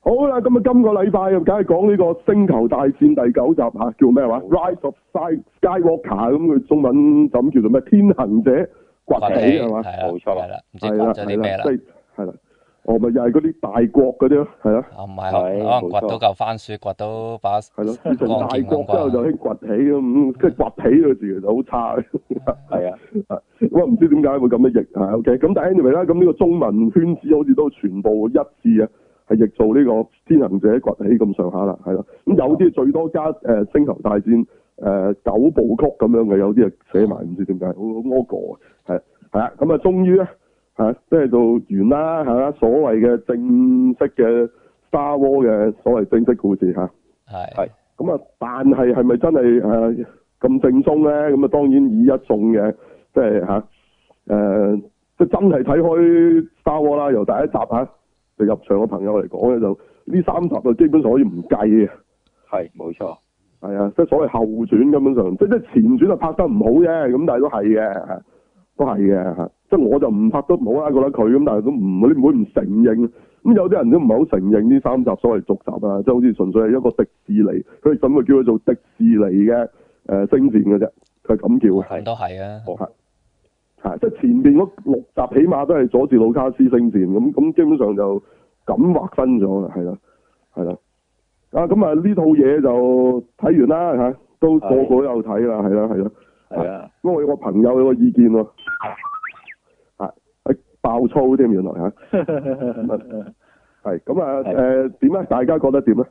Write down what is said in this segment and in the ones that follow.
好啦，咁啊，今個禮拜梗係講呢個《星球大戰》第9集嚇，叫咩話？Rise of Skywalker， 咁佢中文就咁叫做咩？天行者崛起係嘛？ 冇錯啦，唔知係啦， 講咗啲咩啦？ 即係係啦，哦，咪又係嗰啲大國嗰啲咯，係咯。 唔係，可能掘到嚿番薯，掘到把係咯，自從大國之後就興崛起咁，即係崛起呢個字其實好差嘅。 係啊， 我唔知點解會咁樣譯啊。OK，咁但係 anyway 啦，咁呢個中文圈子好似都全部一致啊。係譯做呢個天行者崛起咁上下啦，係啦。咁有啲最多加星球大戰9部曲咁樣嘅，有啲啊寫埋唔知點解，好屙過係啊。咁啊，終於咧即係到完啦，係啦，所謂嘅正式嘅 Star Wars 嘅所謂正式故事嚇。 係。 咁啊，但係咪真係咁正宗咧？咁啊，當然以一眾嘅即係即係真係睇開 Star Wars 啦，由第一集就入場嘅朋友嚟講咧，就呢3集就基本上可以唔計嘅。 係，冇錯。係啊，即係所謂後傳根本上，即係前傳就拍得唔好啫，咁但係都係嘅，都係嘅。即係我就唔拍得唔好啦，覺得佢咁，但係都唔你唔會唔承認。咁有啲人都唔係好承認呢3集所謂續集啊，即係好似純粹係一個迪士尼，佢哋甚至叫佢做迪士尼嘅星戰嘅啫，佢係咁叫嘅。 係都係啊。 即係前面嗰6集起碼都係佐治魯卡斯星戰咁基本上就咁劃分咗啦，係啦。咁啊呢套嘢就睇完啦嚇，都個個都有睇啦，係啦。 係啊。 咁我有個朋友有個意見喎，爆粗添原來嚇。係咁啊點咧？大家覺得點咧？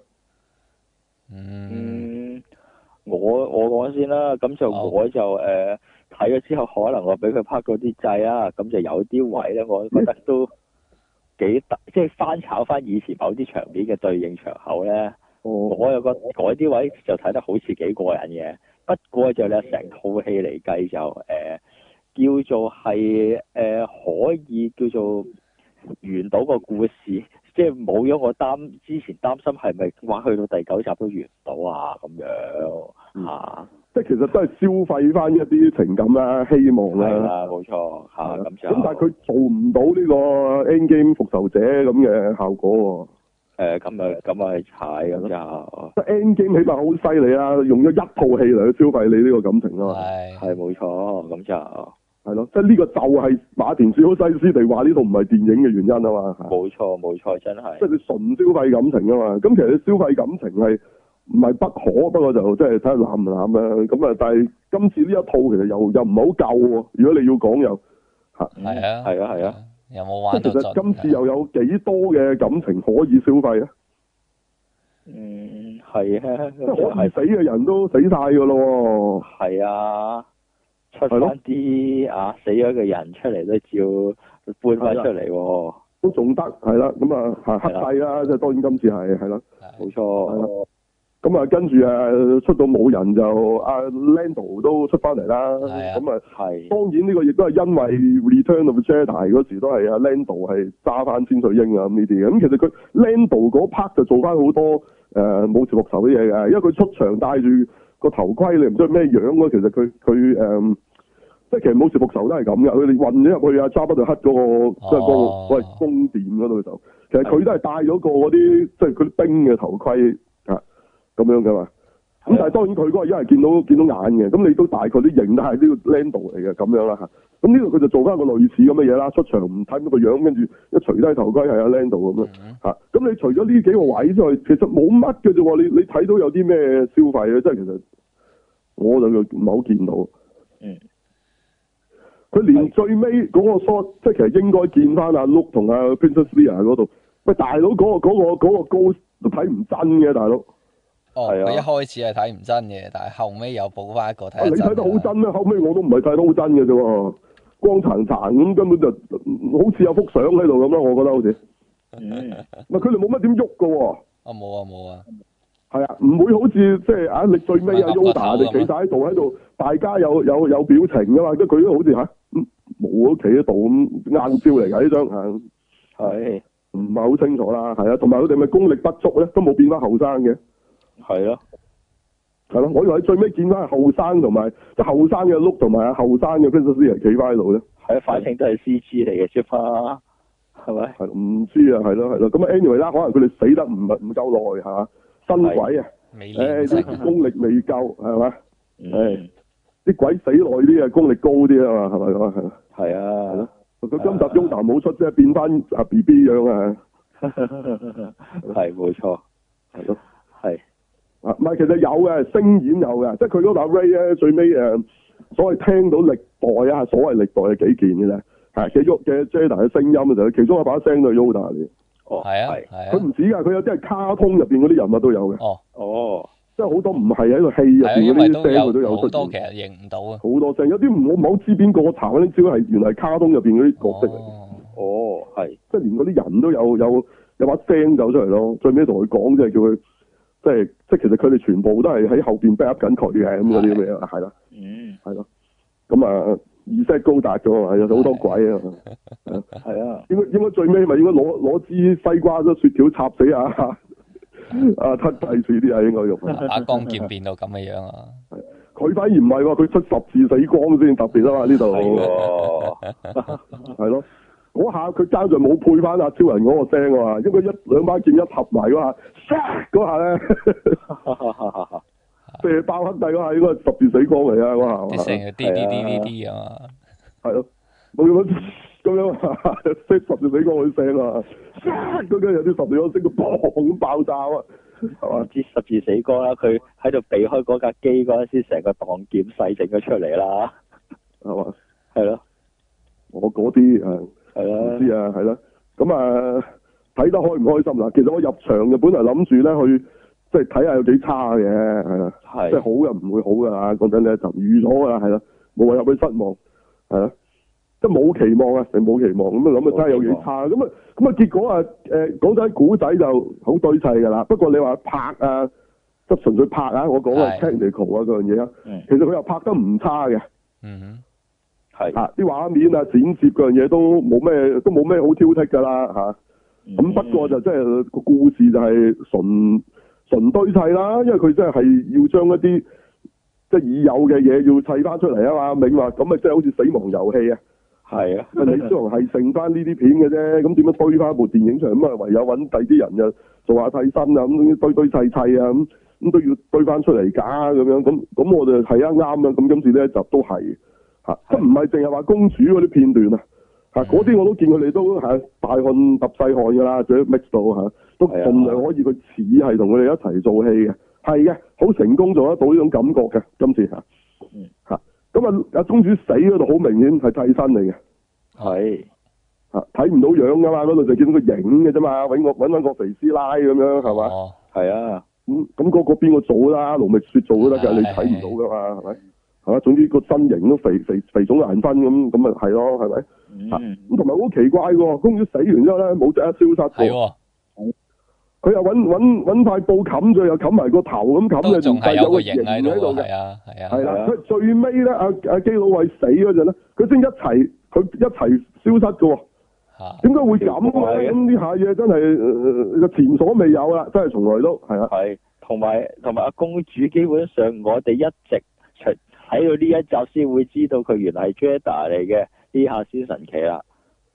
我講先啦，咁就我就睇咗之後，可能我俾佢拍嗰啲掣啊，咁就有啲位咧，我覺得都幾大，即係翻炒翻以前某啲場面嘅對應場口咧。我又覺得嗰啲位就睇得好似幾過癮嘅，不過就咧成套戲嚟計就叫做係可以叫做完到個故事，即係冇咗我之前擔心係咪話去到第9集都完唔到啊咁樣即係其實都係消費翻一啲情感啦、希望啦。 係啦，冇錯咁但係佢做唔到呢個 Endgame 復仇者咁嘅效果喎。 咁啊踩咁就。 Endgame 起碼好犀利啦，用咗一套戲嚟去消費你呢個感情啊嘛。 係冇錯，咁就係咯，即係呢個就係馬田史高西斯地話呢套唔係電影嘅原因啊嘛。 冇錯，真係。 即係你純消費感情啊嘛，咁其實你消費感情係唔係不可，不過就即係睇下濫唔濫啦。咁啊，但係今次呢一套其實又唔係好夠喎。如果你要講又係啊， 有冇玩到盡？ 其實今次又有幾多嘅感情可以消費啊？ 係啊， 即係可以死嘅人都死晒㗎咯喎。 係啊，出翻啲死咗嘅人出嚟都照搬翻出嚟喎。 都仲得係啦，咁啊黑帝啦，即係當然今次係啦， 冇錯。 咁啊跟住出到冇人就Lando 都出翻嚟啦，咁啊當然呢個亦都係因為 Return of the Jedi 嗰時都係Lando 係揸翻千歲鷹啊咁呢啲嘅，咁其實佢 Lando 嗰 part 就做翻好多武士復仇嘅嘢嘅，因為佢出場戴住個頭盔，你唔知係咩樣咯，其實佢即係其實武士復仇都係咁嘅，佢哋運咗入去Jabba the Hutt嗰個即係嗰個宮殿嗰度就，其實佢都係戴咗個嗰啲即係佢啲兵嘅頭盔咁樣噶嘛，咁但係當然佢嗰個因為見到眼嘅，咁你都大概都認得係呢個 Lando 嚟嘅咁樣啦嚇。咁呢度佢就做翻一個類似咁嘅嘢啦，出場唔睇到個樣，跟住一除低頭盔係阿 Lando 咁樣嚇。咁你除咗呢幾個位之外，其實冇乜嘅啫喎。你睇到有啲咩消費咧？即係其實我就唔係好見到。佢連最尾嗰個 shot， 即係其實應該見翻阿 Luke 同阿 Princess Leia 嗰度。喂，大佬嗰個高都睇唔真嘅，大佬。 佢一開始係睇唔真嘅，但係後尾又補翻一個睇。 你睇得好真咩？後尾我都唔係睇得好真嘅啫喎，光殘殘咁，根本就好似有幅相喺度咁啦，我覺得好似。佢哋冇乜點喐㗎喎。 冇啊。 係啊，唔會好似即係你最尾Yoda 你企晒喺度，大家有表情㗎嘛？即係佢都好似冇都企喺度咁硬照嚟㗎呢張係唔係好清楚啦？係啊，同埋佢哋咪功力不足咧，都冇變翻後生嘅。係咯，我以為最尾見翻係後生同埋即係後生嘅 Luke 同埋後生嘅 Princess Leia 企翻喺度咧。係啊，反正都係 CG 嚟嘅啫嘛。 係咪？ 係唔知啊，係咯。咁 anyway 啦，可能佢哋死得唔夠耐係嘛，新鬼啊，啲功力未夠係嘛，啲鬼死耐啲啊，功力高啲啊嘛，係咪咁啊？係啊。佢今集 Yoda 冇出，即係變翻阿 BB 樣啊！ 係冇錯， 係咯， 係唔係其實有嘅，聲演有嘅，即係佢嗰把 Ray 咧，最尾所謂聽到歷代啊，所謂歷代嘅幾件嘅啫，係嘅 Jedi 嘅聲音嘅時候，其中一把聲都係 Yoda 嚟。 哦，係啊，係啊。 佢唔止㗎，佢有啲係卡通入邊嗰啲人物都有嘅。 哦。 即係好多唔係喺個戲入邊嗰啲聲佢都有出現。 好多其實認唔到啊。 好多聲，有啲我唔好知邊個查嗰啲招係原來係卡通入邊嗰啲角色嚟。 哦，係。 即係連嗰啲人都有把聲走出嚟咯。最尾同佢講，即係叫佢，即係其實佢哋全部都係喺後邊 back up 緊佢嘅咁嗰啲咁樣，係啦。係咯。咁啊，意識高達咗啊，有好多鬼啊。係啊。應該最尾咪應該攞支西瓜咗雪條插死啊！吞第四啲啊，應該用把光劍變到咁嘅樣啊！ 佢反而唔係喎，佢出十字死光先特別啊嘛，呢度係咯，嗰下佢爭在冇配翻阿超人嗰個聲啊，因為兩把劍一合埋嗰下，嗰下咧，射爆黑帝嗰下應該係十字死光嚟啊，嗰下啲聲係啲啊嘛， 係咯，冇咁樣識十字死光嗰啲聲啊，嗰間有啲十字光聲到砰咁爆炸啊，係嘛？ 知十字死光啦，佢喺度避開嗰架機嗰陣時，成個當劍細整咗出嚟啦， 係嘛？ 係咯， 我嗰啲係啦，唔知啊，係啦，咁睇得開唔開心啦？其實我入場就本來諗住咧去即係睇下有幾差嘅，係啦，即係好嘅唔會好噶啦，講真咧就預咗噶啦，係啦，冇話入去失望，係啦。即係冇期望啊，你冇期望咁啊，諗啊真係有幾差咁啊，結果啊講真古仔就好堆砌噶啦。不過你話拍啊，即係純粹拍啊，我講嘅 technical 啊嗰樣嘢啊，其實佢又拍得唔差嘅。係啊，啲畫面啊剪接嗰樣嘢都冇咩好挑剔噶啦嚇。咁不過就即係個故事就係純堆砌啦，因為佢真係要將一啲即係已有嘅嘢要砌翻出嚟啊嘛。明話咁啊，即係好似死亡遊戲啊。係啊，李小龍係剩翻呢啲片嘅啫，咁點樣堆翻部電影出嚟？咁啊唯有揾第啲人就做下替身啊，咁堆砌啊，咁都要堆翻出嚟假咁樣，咁我就係啱啊，咁今次呢一集都係嚇，即唔係淨係話公主嗰啲片段啊，嚇嗰啲我都見佢哋都係大汗揼細汗㗎啦，仲要 mix 到嚇，都盡量可以佢似係同佢哋一齊做戲嘅，係嘅，好成功做得到呢種感覺嘅，今次嚇，嚇。咁啊！阿公主死嗰度好明顯係替身嚟嘅，係睇唔到樣噶嘛，嗰度就見到個影嘅啫嘛，揾翻個肥師奶咁樣係嘛？係啊，咁嗰個邊個做啦？盧覓雪做都得㗎，你睇唔到噶嘛？係咪？係嘛？總之個身形都肥腫難分咁咪係咯，係咪？咁同埋好奇怪喎，公主死完之後咧冇即刻消失喎。佢又揾塊布冚住，又冚埋個頭咁冚嘅，仲係有個形喺度嘅。係啦，佢最尾咧，阿基魯衛死嗰陣咧，佢先一齊消失嘅喎。點解會咁咧？咁呢下嘢真係前所未有啦，真係從來都係啊。係，同埋阿公主基本上，我哋一直睇到呢一集先會知道佢原來係 Jedi 嚟嘅，呢下先神奇啦。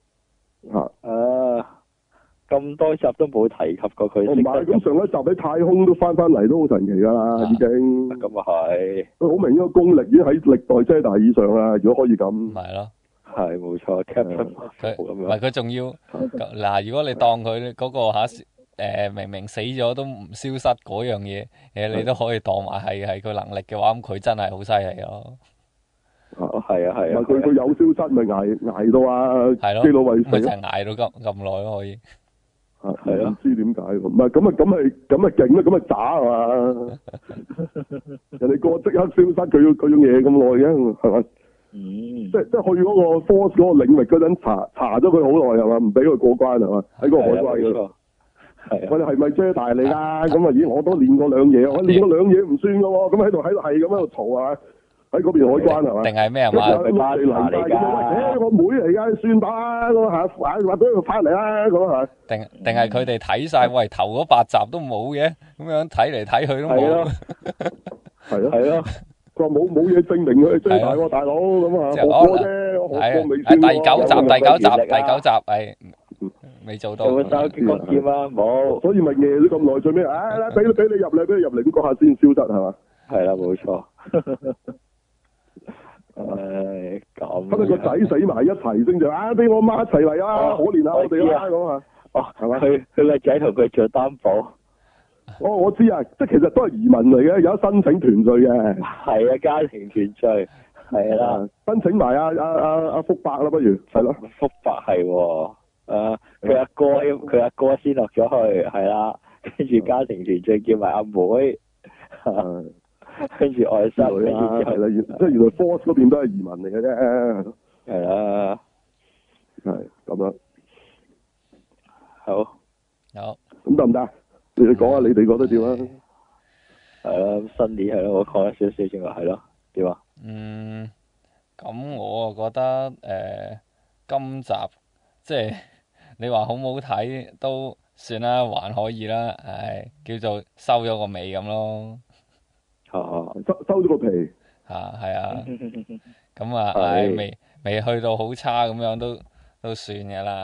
咁多集都冇提及過佢。唔係，咁上一集喺太空都翻嚟都好神奇㗎啦，已經。咁啊係。佢好明顯個功力已經喺歷代 Jedi 以上啦，如果可以咁。係咯。係冇錯 Captain 唔係佢仲要嗱，如果你當佢嗰個明明死咗都唔消失嗰樣嘢，你都可以當埋係佢能力嘅話，咁佢真係好犀利咯。係啊。佢有消失咪捱到啊？基魯衛死。咪就係捱到咁耐咯，可以。係啊，唔知點解喎？唔係咁咪勁啦，咁咪渣係嘛？人哋個即刻消失，佢種嘢咁耐嘅，係咪？即係去嗰個 Force 嗰個領域嗰陣查咗佢好耐係嘛？唔俾佢過關係嘛？喺個海關嗰度。係。我哋係咪 Jedi 嚟㗎？咁啊，咦！我都練過兩嘢，我練過兩嘢唔算㗎喎。咁喺度係咁喺度嘈係嘛？喺嗰邊海關係嘛？定係咩啊？嘛，佢巴拿嚟㗎。我妹嚟㗎，算吧咁嚇，話俾佢翻嚟啦咁嚇。定係佢哋睇晒，喂頭嗰8集都冇嘅，咁樣睇嚟睇去都冇。係咯。佢話冇嘢證明佢追大喎，大佬咁啊，學過啫，學過未算喎。第九集係。 未做到。 有冇收激光劍啊？冇。 所以咪夜咗咁耐，最尾俾你入嚟，俾你入嚟，咁嗰下先消失係嘛？ 係啦，冇錯。咁。 咁你個仔死埋一齊先就俾我媽一齊嚟啊！可憐下我哋啦咁啊！係嘛？ 佢個仔同佢做擔保。 我知啊，即係其實都係移民嚟嘅，有得申請團聚嘅。 係啊，家庭團聚係啦。 申請埋阿福伯啦，不如係咯。 福伯係喎，佢阿哥先落咗去，係啦，跟住家庭團聚叫埋阿妹，跟住外甥，跟住係啦，即係原來 Force 嗰邊都係移民嚟嘅啫。 係啦， 係咁樣。 好。 咁得唔得？你哋講下你哋覺得點啊？ 係咯，新年係咯，我講咗少少正話係咯，點啊？ 咁我啊覺得今集即係你話好唔好睇都算啦，還可以啦，叫做收咗個尾咁咯。 收咗個皮。 係啊。咁啊，未去到好差咁樣都算嘅啦，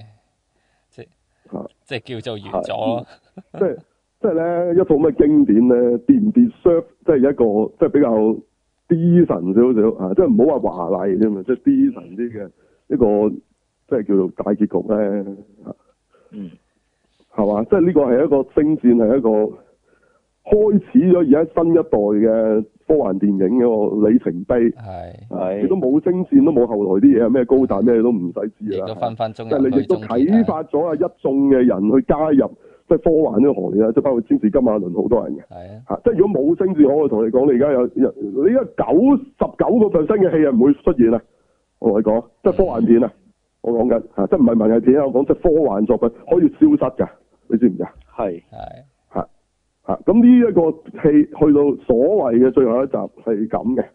即係叫做完咗咯。 即係咧一套咩經典咧，跌唔跌 deserve 即係一個即係比較 D 神少少即係唔好話華麗啫嘛，即係 D 神啲嘅一個即係叫做大結局咧係嘛？即係呢個係一個星戰，係一個開始咗而家新一代嘅科幻電影嘅個里程碑。係。亦都冇星戰，都冇後來啲嘢，咩高達咩都唔使知啦。 亦都分分鐘。 即係你亦都啟發咗一眾嘅人去加入。即係科幻呢個行業啦，即係包括詹士金馬倫好多人嘅。即係如果冇星戰，我會同你講，你而家你而家99%嘅戲係唔會出現啊！我同你講，即係科幻片啊！我講緊即係唔係文藝片啊！我講即係科幻作品可以消失㗎，你知唔知啊？係。咁呢一個戲去到所謂嘅最後一集係咁嘅。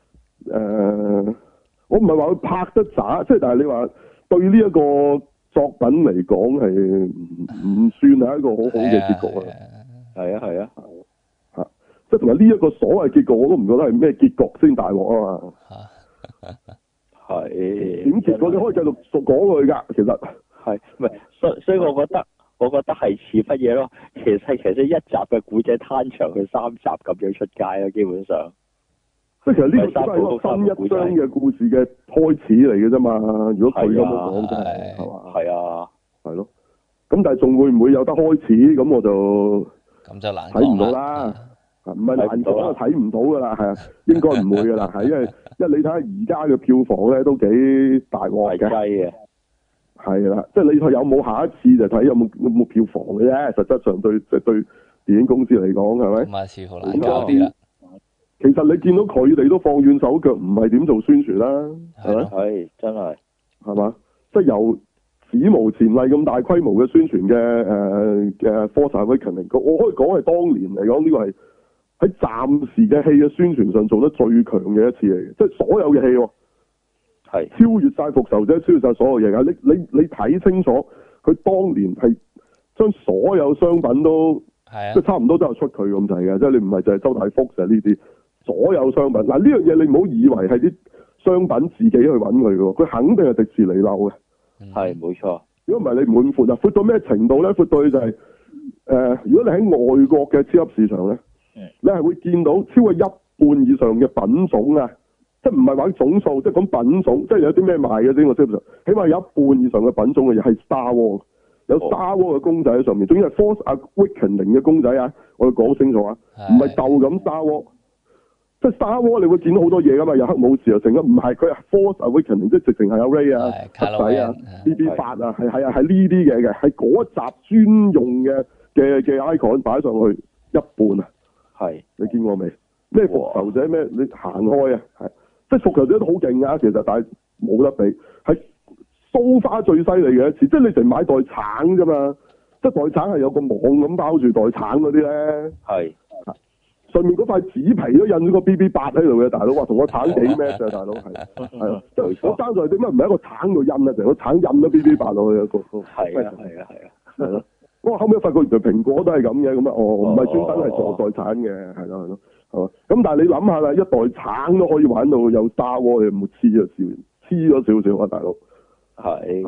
我唔係話佢拍得渣，即係但係你話對呢一個作品嚟講係唔算係一個好好嘅結局啊！係啊，即係同埋呢一個所謂結局我都唔覺得係咩結局先大鑊啊嘛！係點結果你可以繼續講佢㗎，其實係唔係？所以我覺得係似乜嘢咯？其實一集嘅古仔攤長佢3集咁樣出街咯，基本上。 即係其實呢個只係一個新一章嘅故事嘅開始嚟嘅啫嘛。如果佢咁樣講真係嘛？係啊，係咯。咁但係仲會唔會有得開始？咁我就難睇唔到啦。唔係難講，睇唔到㗎啦。係啊，應該唔會㗎啦。係因為你睇下而家嘅票房咧都幾大鑊嘅。係啦，即係你有冇下一次就睇有冇票房嘅啫。實質上對電影公司嚟講係咪？ 咁啊，似乎難搞啲啦。 其實你見到佢哋都放軟手腳，唔係點做宣傳啦，係咪？ 係真係， 係嘛？即係由史無前例咁大規模嘅宣傳嘅Force Awakens，我可以講係當年嚟講呢個係喺暫時嘅戲嘅宣傳上做得最強嘅一次嚟嘅，即係所有嘅戲喎，係超越晒復仇者，超越晒所有嘢㗎。你睇清楚，佢當年係將所有商品都即係差唔多都有出佢咁滯嘅，即係你唔係就係周大福就係呢啲。所有商品嗱，呢樣嘢你唔好以為係啲商品自己去揾佢嘅喎，佢肯定係迪士尼漏嘅。 係冇錯。如果唔係你唔會咁闊啊，闊到咩程度咧？闊到就係如果你喺外國嘅超級市場咧，你係會見到超過一半以上嘅品種啊，即係唔係話總數，即係講品種，即係有啲咩賣嘅先。我超級市場起碼有一半以上嘅品種嘅嘢係 Star Wars，有 Star Wars 嘅公仔喺上面，總之係 Force Awakens 嘅公仔啊！我要講清楚啊，唔係鬥咁 Star Wars。即係 Star Wars 你會見到好多嘢噶嘛，有黑武士又成啦，唔係佢係 Force Awakens，即係直情係有 Ray 啊、黑仔啊、BB8 啊，係呢啲嘢嘅，係嗰集專用嘅 icon 擺上去一半啊，係你見過未？咩復仇者咩？你行開啊，係即係復仇者都好勁啊，其實但係冇得比，係蘇花最犀利嘅一次，即係你成買袋橙啫嘛，即係袋橙係有個網咁包住袋橙嗰啲咧，係。上面嗰塊紙皮都印咗個 BB8喺度嘅，大佬話同個橙幾 match 啊，大佬係啊，即係我爭在點解唔係一個橙度印啊？成個橙印咗 BB8落去啊，係係咯。我後尾發覺原來蘋果都係咁嘅，咁啊唔係專登係做袋橙嘅，係咯，係嘛。咁但係你諗下啦，一袋橙都可以玩到有 Star Wars，你有冇黐咗少少啊，大佬？係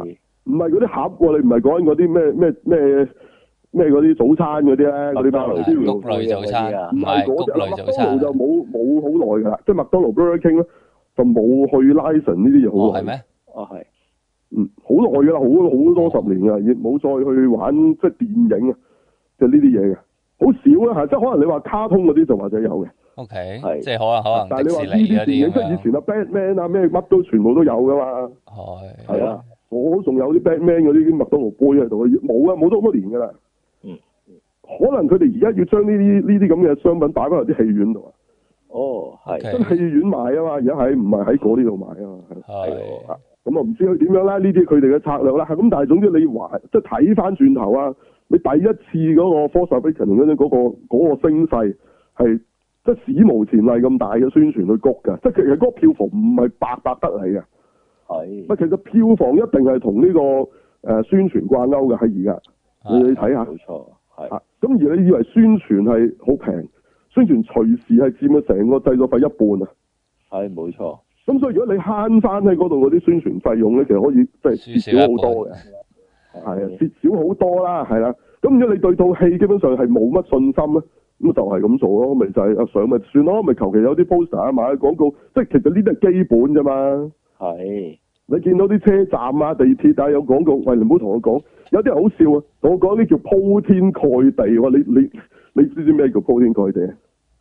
唔係嗰啲盒喎，你唔係講緊嗰啲咩嗰啲早餐嗰啲咧，嗰啲包穀類早餐，唔係穀類早餐。 麥當勞就冇好耐㗎啦，即係麥當勞 Burger King 咧就冇去 license 呢啲嘢好耐。 係咩？ 係。 好耐㗎啦，好多十年㗎，亦冇再去玩即係電影啊，即係呢啲嘢嘅，好少啦嚇，即係可能你話卡通嗰啲就或者有嘅。 OK，即係可能但係你話呢啲電影，即係以前啊 Batman 啊咩乜都全部都有㗎嘛。係啊，我仲有啲 Batman 嗰啲麥當勞杯喺度，冇啊，冇咗好多年㗎啦。可能佢哋而家要將呢啲咁嘅商品擺翻入啲戲院度啊。 係。 真戲院賣啊嘛，而家唔係喺嗰啲度賣啊嘛。係。咁啊唔知佢點樣啦？呢啲佢哋嘅策略啦。咁但係總之你話即係睇翻轉頭啊，你第一次嗰個 Force Awakens 嗰個聲勢係即係史無前例咁大嘅宣傳去谷㗎，即係其實嗰個票房唔係白得嚟嘅。係。其實票房一定係同呢個宣傳掛鈎嘅喺而家。你睇下。冇錯。係。咁而你以為宣傳係好平，宣傳隨時係佔咗成個製作費一半啊。係，冇錯。咁所以如果你慳翻喺嗰度嗰啲宣傳費用咧，其實可以即係蝕少好多嘅。係啊，蝕少好多啦，係啦。咁如果你對套戲基本上係冇乜信心咧，咁就係咁做咯，咪就係上咪算咯，咪求其有啲 poster 啊，買啲廣告，即係其實呢啲係基本啫嘛。係。你見到啲車站啊、地鐵啊有廣告，喂，你唔好同我講，有啲人好笑啊，同我講啲叫鋪天蓋地喎，你知唔知咩叫鋪天蓋地啊？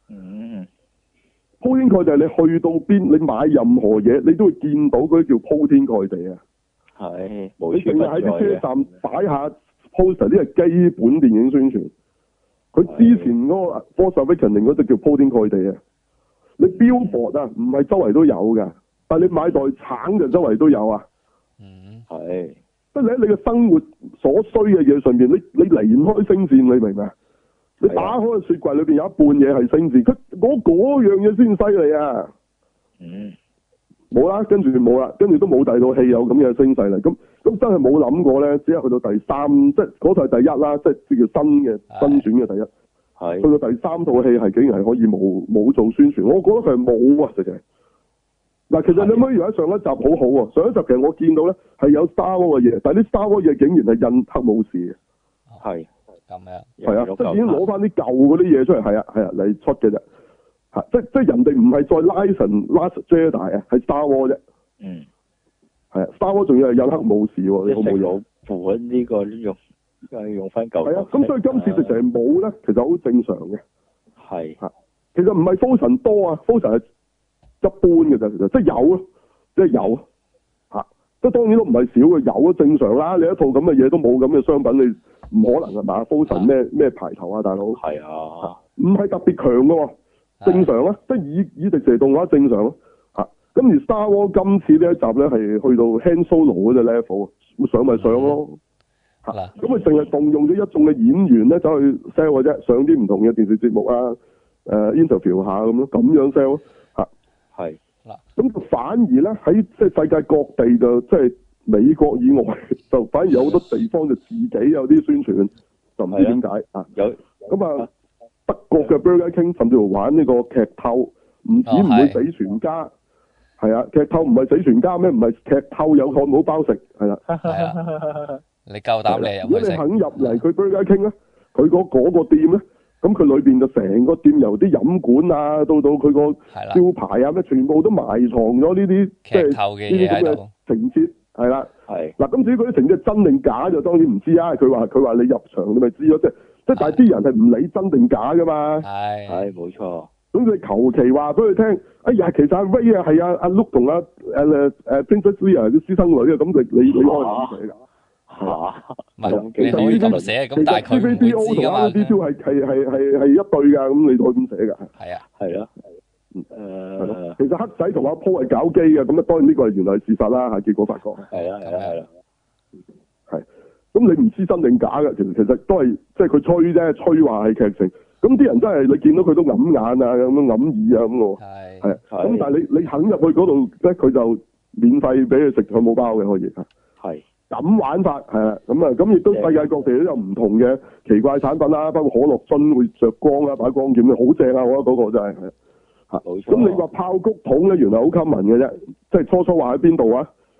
鋪天蓋地係你去到邊，你買任何嘢，你都會見到嗰啲叫鋪天蓋地啊。係，你淨係喺啲車站擺下 poster，呢係基本電影宣傳。佢之前嗰個 Force Awakens 嗰隻叫鋪天蓋地啊。你 billboard 啊，唔係周圍都有㗎，但係你買袋橙就周圍都有啊。係。即係你喺你嘅生活所需嘅嘢上面，你離唔開星戰，你明唔明啊？你打開個雪櫃裏邊有一半嘢係星戰，佢嗰樣嘢先犀利啊！冇啦，跟住冇啦，跟住都冇第二套戲有咁嘅聲勢啦。咁真係冇諗過咧，只係去到第三，即係嗰套係第一啦，即係叫新選嘅第一。係。去到第三套戲係竟然係可以冇做宣傳，我覺得佢係冇啊，直情。嗱，其實你可以以為上一集好好喎，上一集其實我見到咧係有 Star Wars 嘅嘢，但係啲 Star Wars 嘢竟然係印黑武士嘅。係。咁樣。係啊，即係已經攞翻啲舊嗰啲嘢出嚟，係啊嚟出嘅啫。即係人哋唔係再 license Last Jedi 啊，係 Star Wars 啫。係啊 ，Star Wars 仲要係印黑武士喎，你好冇用？款呢個用翻舊。係啊，咁所以今次直情係冇咧，其實好正常嘅。係。其實唔係 Frozen 多啊 ，Frozen 係一般嘅啫，其實即係有咯，即係有。即係當然都唔係少嘅，有都正常啦。你一套咁嘅嘢都冇咁嘅商品，你唔可能係嘛 Frozen 咩排頭啊，大佬。係啊。唔係特別強嘅喎。正常啊，即係以迪士尼動畫正常咯，咁而 Star Wars 今次呢一集咧係去到 Han Solo 嗰隻 level，上咪上咯，咁佢淨係動用咗一眾嘅演員咧走去 sell 嘅啫，上啲唔同嘅電視節目啊，interview 下咁咯，咁樣 sell 係咁就反而咧喺即係世界各地就即係美國以外就反而有好多地方就自己有啲宣傳，就唔知點解有咁啊。德國嘅 Burger King 甚至乎玩呢個劇透，唔會死全家，係啊，劇透唔係死全家咩？唔係劇透有漢堡包食，係啦。你夠膽你入去食？如果你肯入嚟佢 Burger King 咧，佢嗰個店咧，咁佢裏邊就成個店由啲飲管啊，到佢個招牌啊，咩全部都埋藏咗呢啲即係呢啲咁嘅情節，係啦。係嗱，咁至於嗰啲情節真定假就當然唔知啊。佢話你入場你咪知咯，即係但係啲人係唔理真定假噶嘛，係冇錯。咁你求其話俾佢聽，哎呀，其實阿 Ray 啊係阿 Luke 同阿Princess Leia 啲私生女啊，咁你可以唔寫㗎嚇？其實呢啲寫咁，但係佢唔會知㗎嘛。D2 係一對㗎，咁你可以咁寫㗎。係啊，係啊。其實黑仔同阿 Paul 係搞基嘅，咁啊當然呢個係原來係事實啦嚇，結果發覺。係啦，係。咁你唔知真定假嘅，其實都係即係佢吹啫，吹話係劇情。咁啲人真係你見到佢都揞眼啊，咁樣揞耳啊咁喎。係。咁但係你肯入去嗰度咧，佢就免費俾佢食漢堡包嘅可以。係。咁玩法係啦，咁亦都世界各地都有唔同嘅奇怪產品啦，包括可樂樽會着光啊，擺光劍好正啊！我覺得嗰個真係係。冇錯。咁你話炮谷桶咧，原來好 common 嘅啫，即係初話喺邊度啊？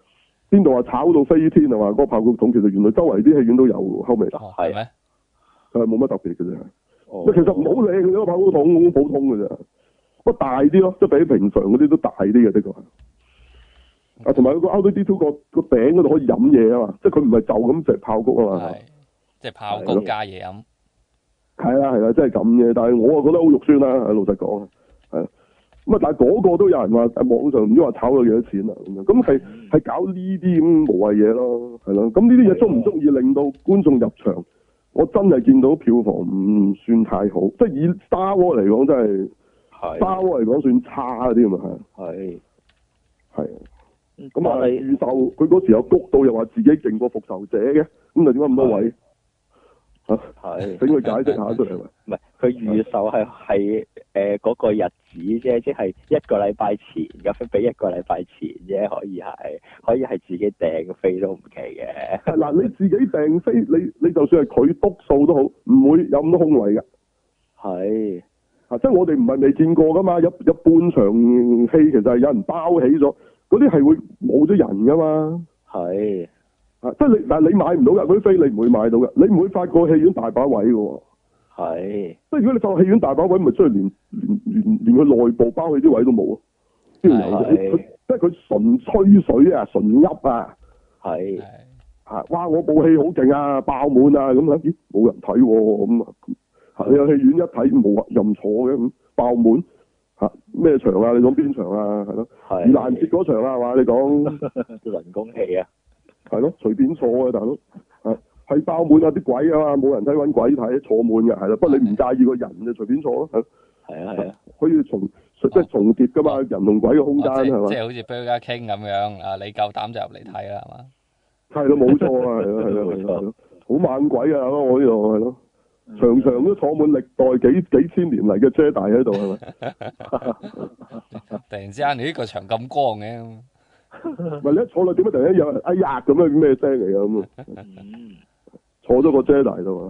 邊度話炒到飛天啊嘛？嗰個爆谷桶其實原來周圍啲戲院都有喎，後尾係咩？ 係冇乜特別嘅啫。其實唔好靚嘅啫，個爆谷桶好普通嘅啫，不過大啲咯，即係比平常嗰啲都大啲嘅，的確係。啊，同埋個 R2D2個頂嗰度可以飲嘢啊嘛，即係佢唔係就咁食爆谷啊嘛。 係，即係爆谷加嘢飲。 係啦，即係咁嘅，但係我啊覺得好肉酸啦，老實講係。咁啊，但係嗰個都有人話喺網上唔知話炒咗幾多錢啊咁樣，咁係搞呢啲咁無謂嘢咯，係咯。咁呢啲嘢足唔足以令到觀眾入場？我真係見到票房唔算太好，即係以 Star Wars 嚟講真係，Star Wars 嚟講算差啲嘛係。係。咁啊，預售佢嗰時有谷到又話自己勁過復仇者嘅，咁啊點解咁多位？係，俾佢解釋下出嚟。 唔係，佢預售係嗰個日子啫，即係一個禮拜前咁俾一個禮拜前啫，可以係自己訂飛都唔奇嘅。 嗱，你自己訂飛，你就算係佢篤數都好，唔會有咁多空位㗎。係。即係我哋唔係未見過㗎嘛，有半場戲其實係有人包起咗，嗰啲係會冇咗人㗎嘛。係。即係但係你買唔到㗎，嗰啲飛你唔會買到㗎，你唔會發覺戲院大把位㗎喎。係。即係如果你發覺戲院大把位，咪出去連佢內部包起啲位都冇啊！邊度有？即係佢純吹水啊，純噏啊。係。哇！我部戲好勁啊，爆滿啊，咁啊，咦冇人睇喎，咁啊，你有戲院一睇冇任坐嘅咁爆滿咩場啊？你講邊場啊？係咯。盂蘭節嗰場啊，係嘛？你講人工戲啊？ 係咯，隨便坐啊，大佬，係爆滿啊啲鬼啊嘛，冇人睇揾鬼睇，坐滿嘅係咯，不過你唔介意個人就隨便坐咯，係啊，可以即係重疊噶嘛，人同鬼嘅空間係嘛， 即係好似 Burger King 咁樣啊，你夠膽就入嚟睇啦係嘛， 係咯冇錯啊，係咯，好猛鬼啊我呢度係咯，場場都坐滿歷代幾千年嚟嘅 Jedi 喺度係咪？ 突然之間你呢個場咁光嘅。 唔係你一坐落點解突然間有人哎呀咁樣咩聲嚟㗎咁啊？坐咗個 Jedi 度啊！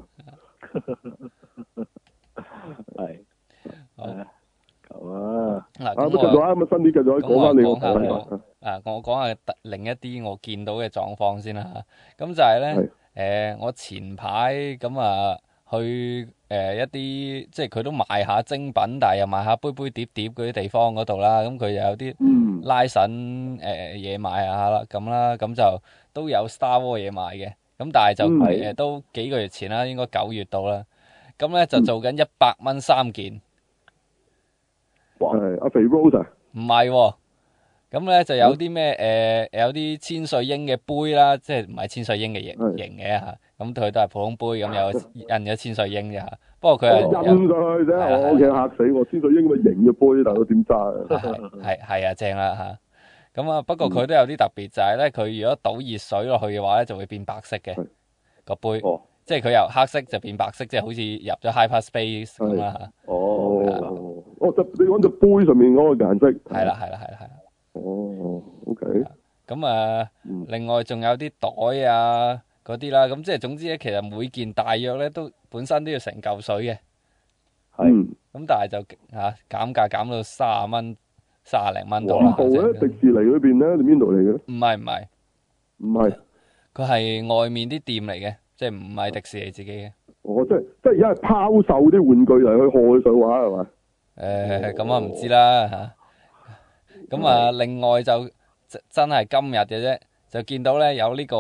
係咁啊！咁繼續啊！咁新啲繼續講翻你個睇法。 我講下另一啲我見到嘅狀況先啦嚇。咁就係咧我前排咁啊去一啲即係佢都賣下精品，但係又賣下杯杯碟碟嗰啲地方嗰度啦。咁佢又有啲拉筍嘢賣下啦，咁就都有 Star Wars 嘢賣嘅。咁但係就都幾個月前啦，應該9月到啦。咁咧就做緊100蚊3件。 哇！阿肥 Rose 啊？ 唔係喎。咁咧就有啲咩有啲千歲鷹嘅杯啦，即係唔係千歲鷹嘅型嘅嚇。咁佢都係普通杯，咁有印咗千歲鷹嘅嚇。不過佢係印上去啫，我屋企嚇死我！千歲鷹咁嘅型嘅杯，但係佢點揸啊？ 係啊，正啦嚇。咁啊，不過佢都有啲特別，就係咧，佢如果倒熱水落去嘅話咧，就會變白色嘅個杯。即係佢由黑色就變白色，即係好似入咗 hyperspace 咁啦嚇。 就你講隻杯上面嗰個顏色。係啦。OK。咁另外仲有啲袋啊嗰啲啦，咁即係總之咧，其實每件大約咧都本身都要成嚿水嘅。咁但係就減價減到30蚊、30零蚊到啦。 邊度咧？迪士尼嗰邊咧？定邊度嚟嘅？ 唔係。佢係外面啲店嚟嘅，即係唔係迪士尼自己嘅。 即係而家係拋售啲玩具嚟去賀上畫係嘛？ 咁我唔知啦嚇。咁另外就真係今日嘅啫，就見到咧有呢個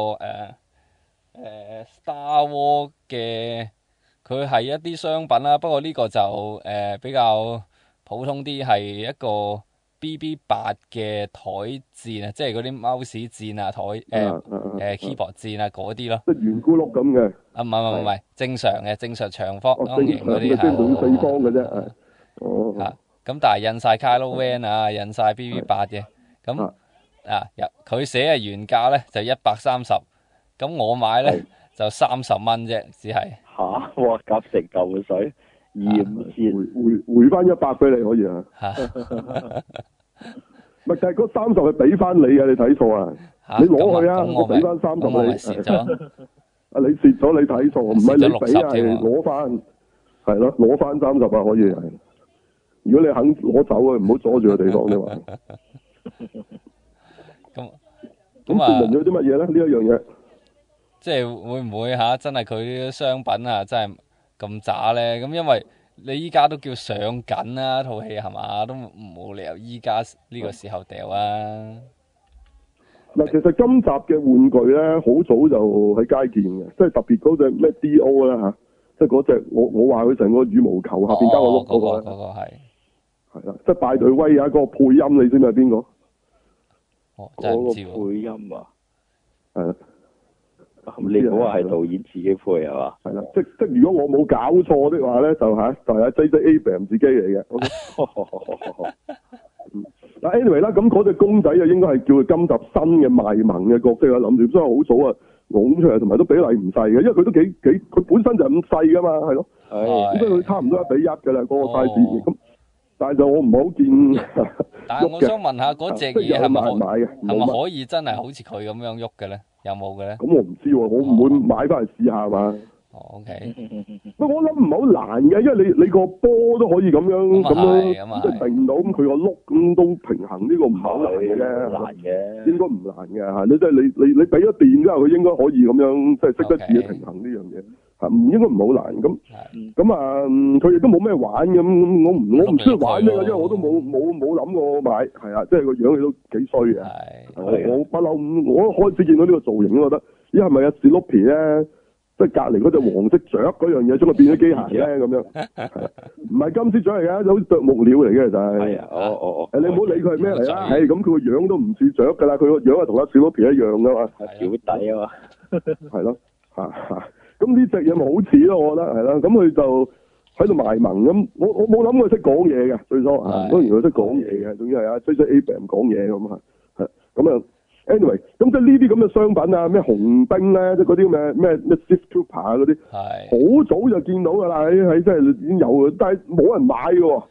Star Wars 嘅，佢係一啲商品啦。不過呢個就比較普通啲，係一個 BB8 嘅台墊啊，即係嗰啲 mouse 墊啊，keyboard 墊啊嗰啲咯。即係圓咕碌咁嘅。唔係，正常長方形嗰啲即係滿四方嘅啫。 咁但係印晒 Kylo Ren 啊，印晒 BB8 嘅。咁佢寫嘅原價咧就130，咁我買咧就30蚊啫，只係。 哇！夾成嚿水，2、5折， 回翻100俾你可以啊。咪就係嗰30係俾翻你嘅，你睇錯啊！你攞去啊，我俾翻30你。 蝕咗。 你蝕咗，你睇錯，唔係你俾啊，係攞翻，係咯，攞翻30啊，可以係。如果你肯攞走啊，唔好阻住個地方啫嘛。 咁證明咗啲乜嘢咧？呢一樣嘢， 即係會唔會真係佢啲商品啊，真係咁渣咧？咁因為你依家都叫上緊啦，套戲係嘛，都冇理由依家呢個時候掉啊！ 嗱，其實今集嘅玩具咧，好早就喺街見嘅，即係特別嗰隻咩 D.O. 啦嚇，即係嗰隻我話佢成個羽毛球下邊加個碌嗰個咧， 嗰個係啦，即係拜對威啊！嗰個配音你知唔知係邊個？ 真係唔知喎。配音啊， 係啦。 你嗰個係導演自己配係嘛？ 係啦，即如果我冇搞錯的話咧，就係 J.J. Abrams 自己嚟嘅。嗱，anyway 啦，咁嗰隻公仔就應該係叫佢今集新嘅賣萌嘅角色啦。諗住所以好早啊，拱出嚟，同埋都比例唔細嘅，因為佢都幾，佢本身就咁細噶嘛，係咯。係。咁所以佢差唔多1:1噶啦，嗰個 size。咁，但係就我唔係好見。 但係我想問下嗰隻嘢係咪可以真係好似佢咁樣喐嘅咧？有冇嘅咧？咁我唔知喎，我唔會買翻嚟試下嘛。 OK。 我諗唔係好難嘅，因為你個波都可以咁樣即係定到，咁佢個碌咁都平衡，呢個唔係好難嘅啫。難嘅。應該唔難嘅嚇，你即係你俾咗電之後，佢應該可以咁樣即係識得自己平衡呢樣嘢嚇，唔應該唔係好難咁啊，佢亦都冇咩玩咁，我唔需要玩咩嘅，因為我都冇諗過買，係啊，即係個樣亦都幾衰嘅。我不嬲，我開始見到呢個造型，我覺得咦係咪啊史努比咧？即係隔離嗰隻黃色雀嗰樣嘢，將佢變咗機械咧咁樣，唔係金絲雀嚟嘅，好似啄木鳥嚟嘅就係。係啊，你唔好理佢係咩嚟啦，係咁佢個樣都唔似雀㗎啦，佢個樣係同阿小皮一樣㗎嘛。係小弟啊嘛。係咯，咁呢隻嘢咪好似咯，我覺得係啦，咁佢就喺度賣萌咁，我冇諗過識講嘢嘅最初嚇，當然佢識講嘢嘅，總之係J.J. Abrams 講嘢咁嚇，係咁啊。anyway， 咁即係呢啲咁嘅商品啊，咩紅兵咧，即係嗰啲咩 Sith Trooper 啊嗰啲，好早就見到㗎啦，喺即係已經有，但係冇人買㗎喎。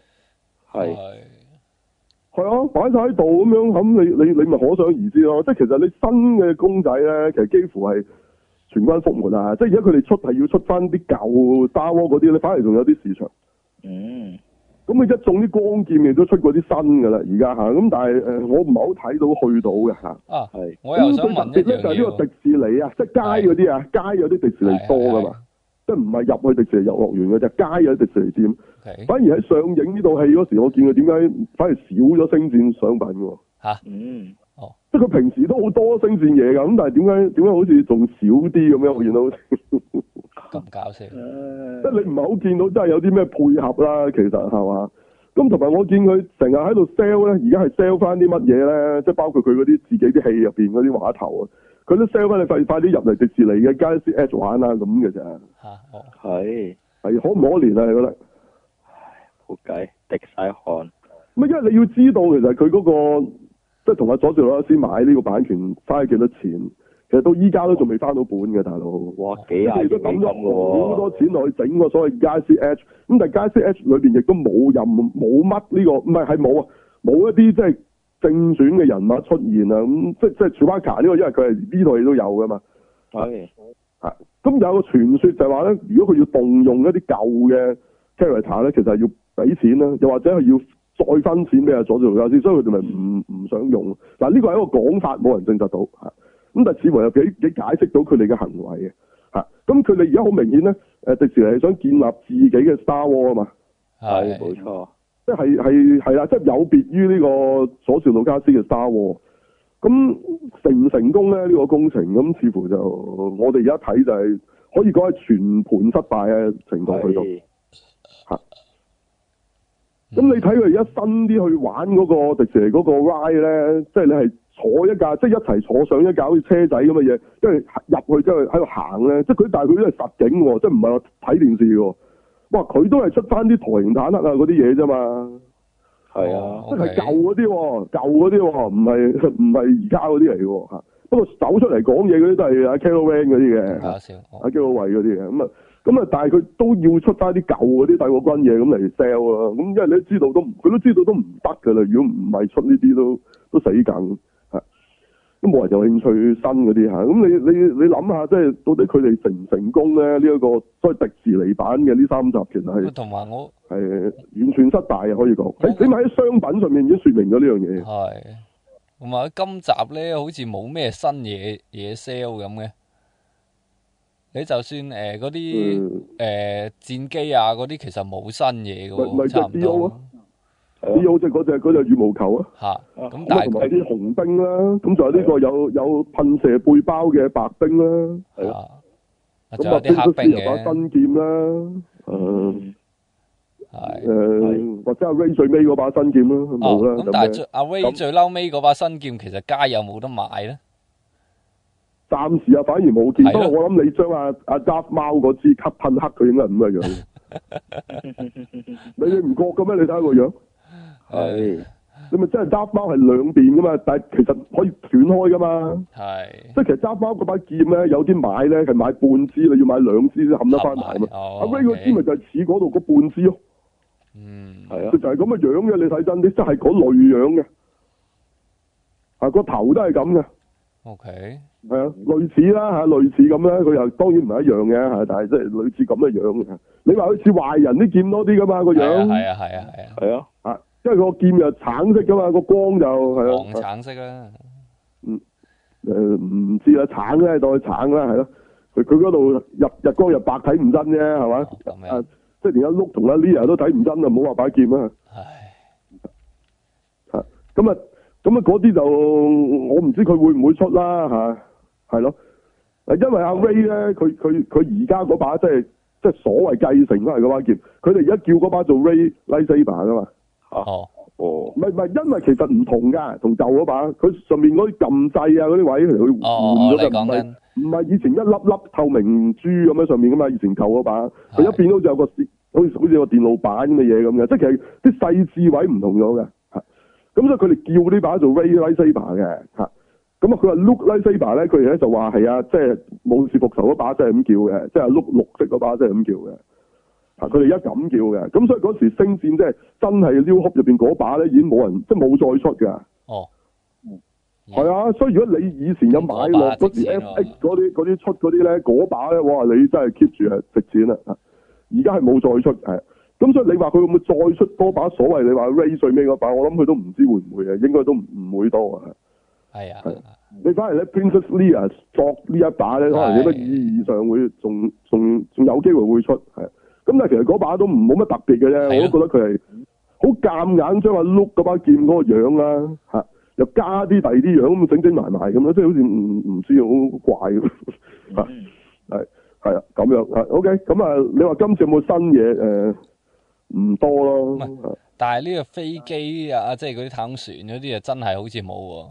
係啊，擺晒喺度咁樣，咁你咪可想而知咯。即係其實你新嘅公仔咧，其實幾乎係全軍覆沒啊！即係而家佢哋係要出翻啲舊 Star Wars嗰啲咧，反而仲有啲市場。咁佢一中啲光劍亦都出過啲新㗎啦，而家嚇咁，但係我唔係好睇到去到嘅嚇。 我又想問一樣嘢。咁最特別咧就係呢個迪士尼啊，即係街嗰啲啊，街有啲迪士尼多㗎嘛，即係唔係入去迪士尼遊樂園嘅啫，街有啲迪士尼店。反而喺上映呢套戲嗰時，我見佢點解反而少咗星戰商品喎？即係佢平時都好多星戰嘢㗎，咁但係點解好似仲少啲咁樣？我見到咁搞笑。 即係你唔係好見到真係有啲咩配合啦，其實係嘛？咁同埋我見佢成日喺度 sell 咧，而家係 sell 翻啲乜嘢咧？即係包括佢嗰啲自己啲戲入邊嗰啲畫頭啊，佢都 sell 翻你快啲入嚟迪士尼嘅 Galaxy Edge 玩啊咁嘅咋。係可唔可憐啊？你覺得？ 冇計，滴晒汗。 咁因為你要知道，其實佢嗰個即係同阿佐治魯斯買呢個版權花咗幾多錢？其實到依家都仲未翻到本嘅，大佬。哇，幾廿億都抌咗好多錢落去整個所謂 Galaxy Edge，咁但係 Galaxy Edge 裏邊亦都冇乜呢個，唔係冇啊，冇一啲即係正選嘅人物出現啊，咁即係 Chewbacca 呢個，因為佢係呢套戲都有噶嘛。咁有個傳說就係話咧，如果佢要動用一啲舊嘅 character 咧，其實係要俾錢啦，又或者係要再分錢俾阿佐治魯斯，所以佢哋咪唔想用。嗱，呢個係一個講法，冇人證實到嚇。咁但係似乎又幾解釋到佢哋嘅行為嘅嚇。咁佢哋而家好明顯咧，迪士尼係想建立自己嘅 Star Wars 啊嘛。 係，冇錯。 即係啦，即係有別於呢個佐治魯斯嘅 Star Wars。咁成唔成功咧？呢個工程咁似乎就我哋而家睇就係可以講係全盤失敗嘅程度去到嚇。咁你睇佢而家新啲去玩嗰個迪士尼嗰個 ride 咧，即係你係坐一架，即係一齊坐上一架好似車仔咁嘅嘢，跟住入去即係喺度行咧，即係但係佢都係實景喎，即係唔係話睇電視喎。哇！佢都係出翻啲台型坦克啊嗰啲嘢啫嘛。係啊，即係舊嗰啲喎，舊嗰啲喎，唔係而家嗰啲嚟嘅喎嚇。不過走出嚟講嘢嗰啲都係阿 Kylo Ren 嗰啲嘅，阿 Kylo 衛嗰啲嘅咁啊，但係佢都要出翻啲舊嗰啲帝國軍嘢咁嚟 sell 啊。咁因為你都知道佢都知道都唔得㗎啦。如果唔係出呢啲都死梗嚇，都冇人有興趣新嗰啲嚇。咁你諗下，即係到底佢哋成唔成功咧？呢一個所謂迪士尼版嘅呢3集其實係同埋我係完全失敗嘅，可以講。起碼喺商品上面已經説明咗呢樣嘢。 同埋今集咧好似冇咩新嘢 sell 咁嘅。你就算嗰啲戰機啊嗰啲，其實冇新嘢嘅喎，差唔多。 D.O. 即係嗰隻羽毛球啊。 嚇，咁但係同埋啲紅兵啦，咁就係呢個有噴射背包嘅白兵啦。係啊。咁啊，邊個先有把新劍啦？或者阿 Ray 最尾嗰把新劍啦，冇啦。 咁但係阿 Ray 最嬲尾嗰把新劍，其實街有冇得買咧？ 暫時反而冇見。不過我諗你將阿 Darth 貓嗰支吸噴黑，佢應該係咁嘅樣。你唔覺嘅咩？你睇下個樣。係。你咪真係 Darth 貓係兩邊噶嘛？但係其實可以斷開噶嘛。係。即係其實 Darth 貓嗰把劍咧，有啲買咧係買半支，你要買兩支先冚得翻埋嘛。阿 Ray 嗰支咪就係似嗰度嗰半支咯。係啊。佢就係咁嘅樣嘅，你睇真啲，真係嗰類樣嘅。個頭都係咁嘅。OK。係啊，類似啦嚇，類似咁啦，佢又當然唔係一樣嘅嚇，但係即係類似咁嘅樣嘅。你話佢似壞人啲劍多啲噶嘛個樣？係啊，嚇，因為個劍又橙色噶嘛，個光就係啊。黃橙色啦。唔知啦，橙咧當佢橙啦，係咯。佢嗰度日光日白睇唔真啫，係嘛？即係連阿 Luke 同阿 Leia 都睇唔真啊，唔好話把劍啊。係。咁啊嗰啲就我唔知佢會唔會出啦嚇。係咯，因為阿 Ray 咧，佢而家嗰把即係所謂繼承翻嚟嗰把劍，佢哋而家叫嗰把做 Ray Lightsaber 噶嘛。唔係，因為其實唔同㗎，同舊嗰把，佢上面嗰啲撳掣啊嗰啲位佢換咗㗎，唔係以前一粒粒透明珠咁樣上面㗎嘛，以前舊嗰把，佢一變到就有個好似個電路板咁嘅嘢咁嘅，即係其實啲細緻位唔同咗嘅。咁所以佢哋叫呢把做 Ray Lightsaber 嘅嚇。咁啊，佢話 Luke Lightsaber 咧，佢哋咧就話係啊，即係武士復仇嗰把真係咁叫嘅，即係 Luke 綠色嗰把真係咁叫嘅。佢哋而家咁叫嘅，咁所以嗰時星戰即係真係 New Hope 入邊嗰把咧，已經冇人即係冇再出㗎。係啊，所以如果你以前有買落嗰時 FX 嗰啲出嗰啲咧，嗰把咧，哇！你真係 keep 住係值錢啦。而家係冇再出係，咁所以你話佢會唔會再出多把所謂你話 Ray 最尾嗰把？我諗佢都唔知會唔會嘅，應該都唔會多啊。係啊，你反而咧 Princess Leia 作呢一把咧，可能有乜意義上會仲有機會會出係。咁但係其實嗰把都冇乜特別嘅啫，我都覺得佢係好夾硬將阿 Luke 嗰把劍嗰個樣啦嚇，又加啲第二啲樣咁整埋咁樣，即係好似唔知好怪咁嚇，係啊咁樣啊 OK，咁啊你話今次有冇新嘢唔多咯， 但係呢個飛機啊，即係嗰啲太空船嗰啲啊，真係好似冇喎。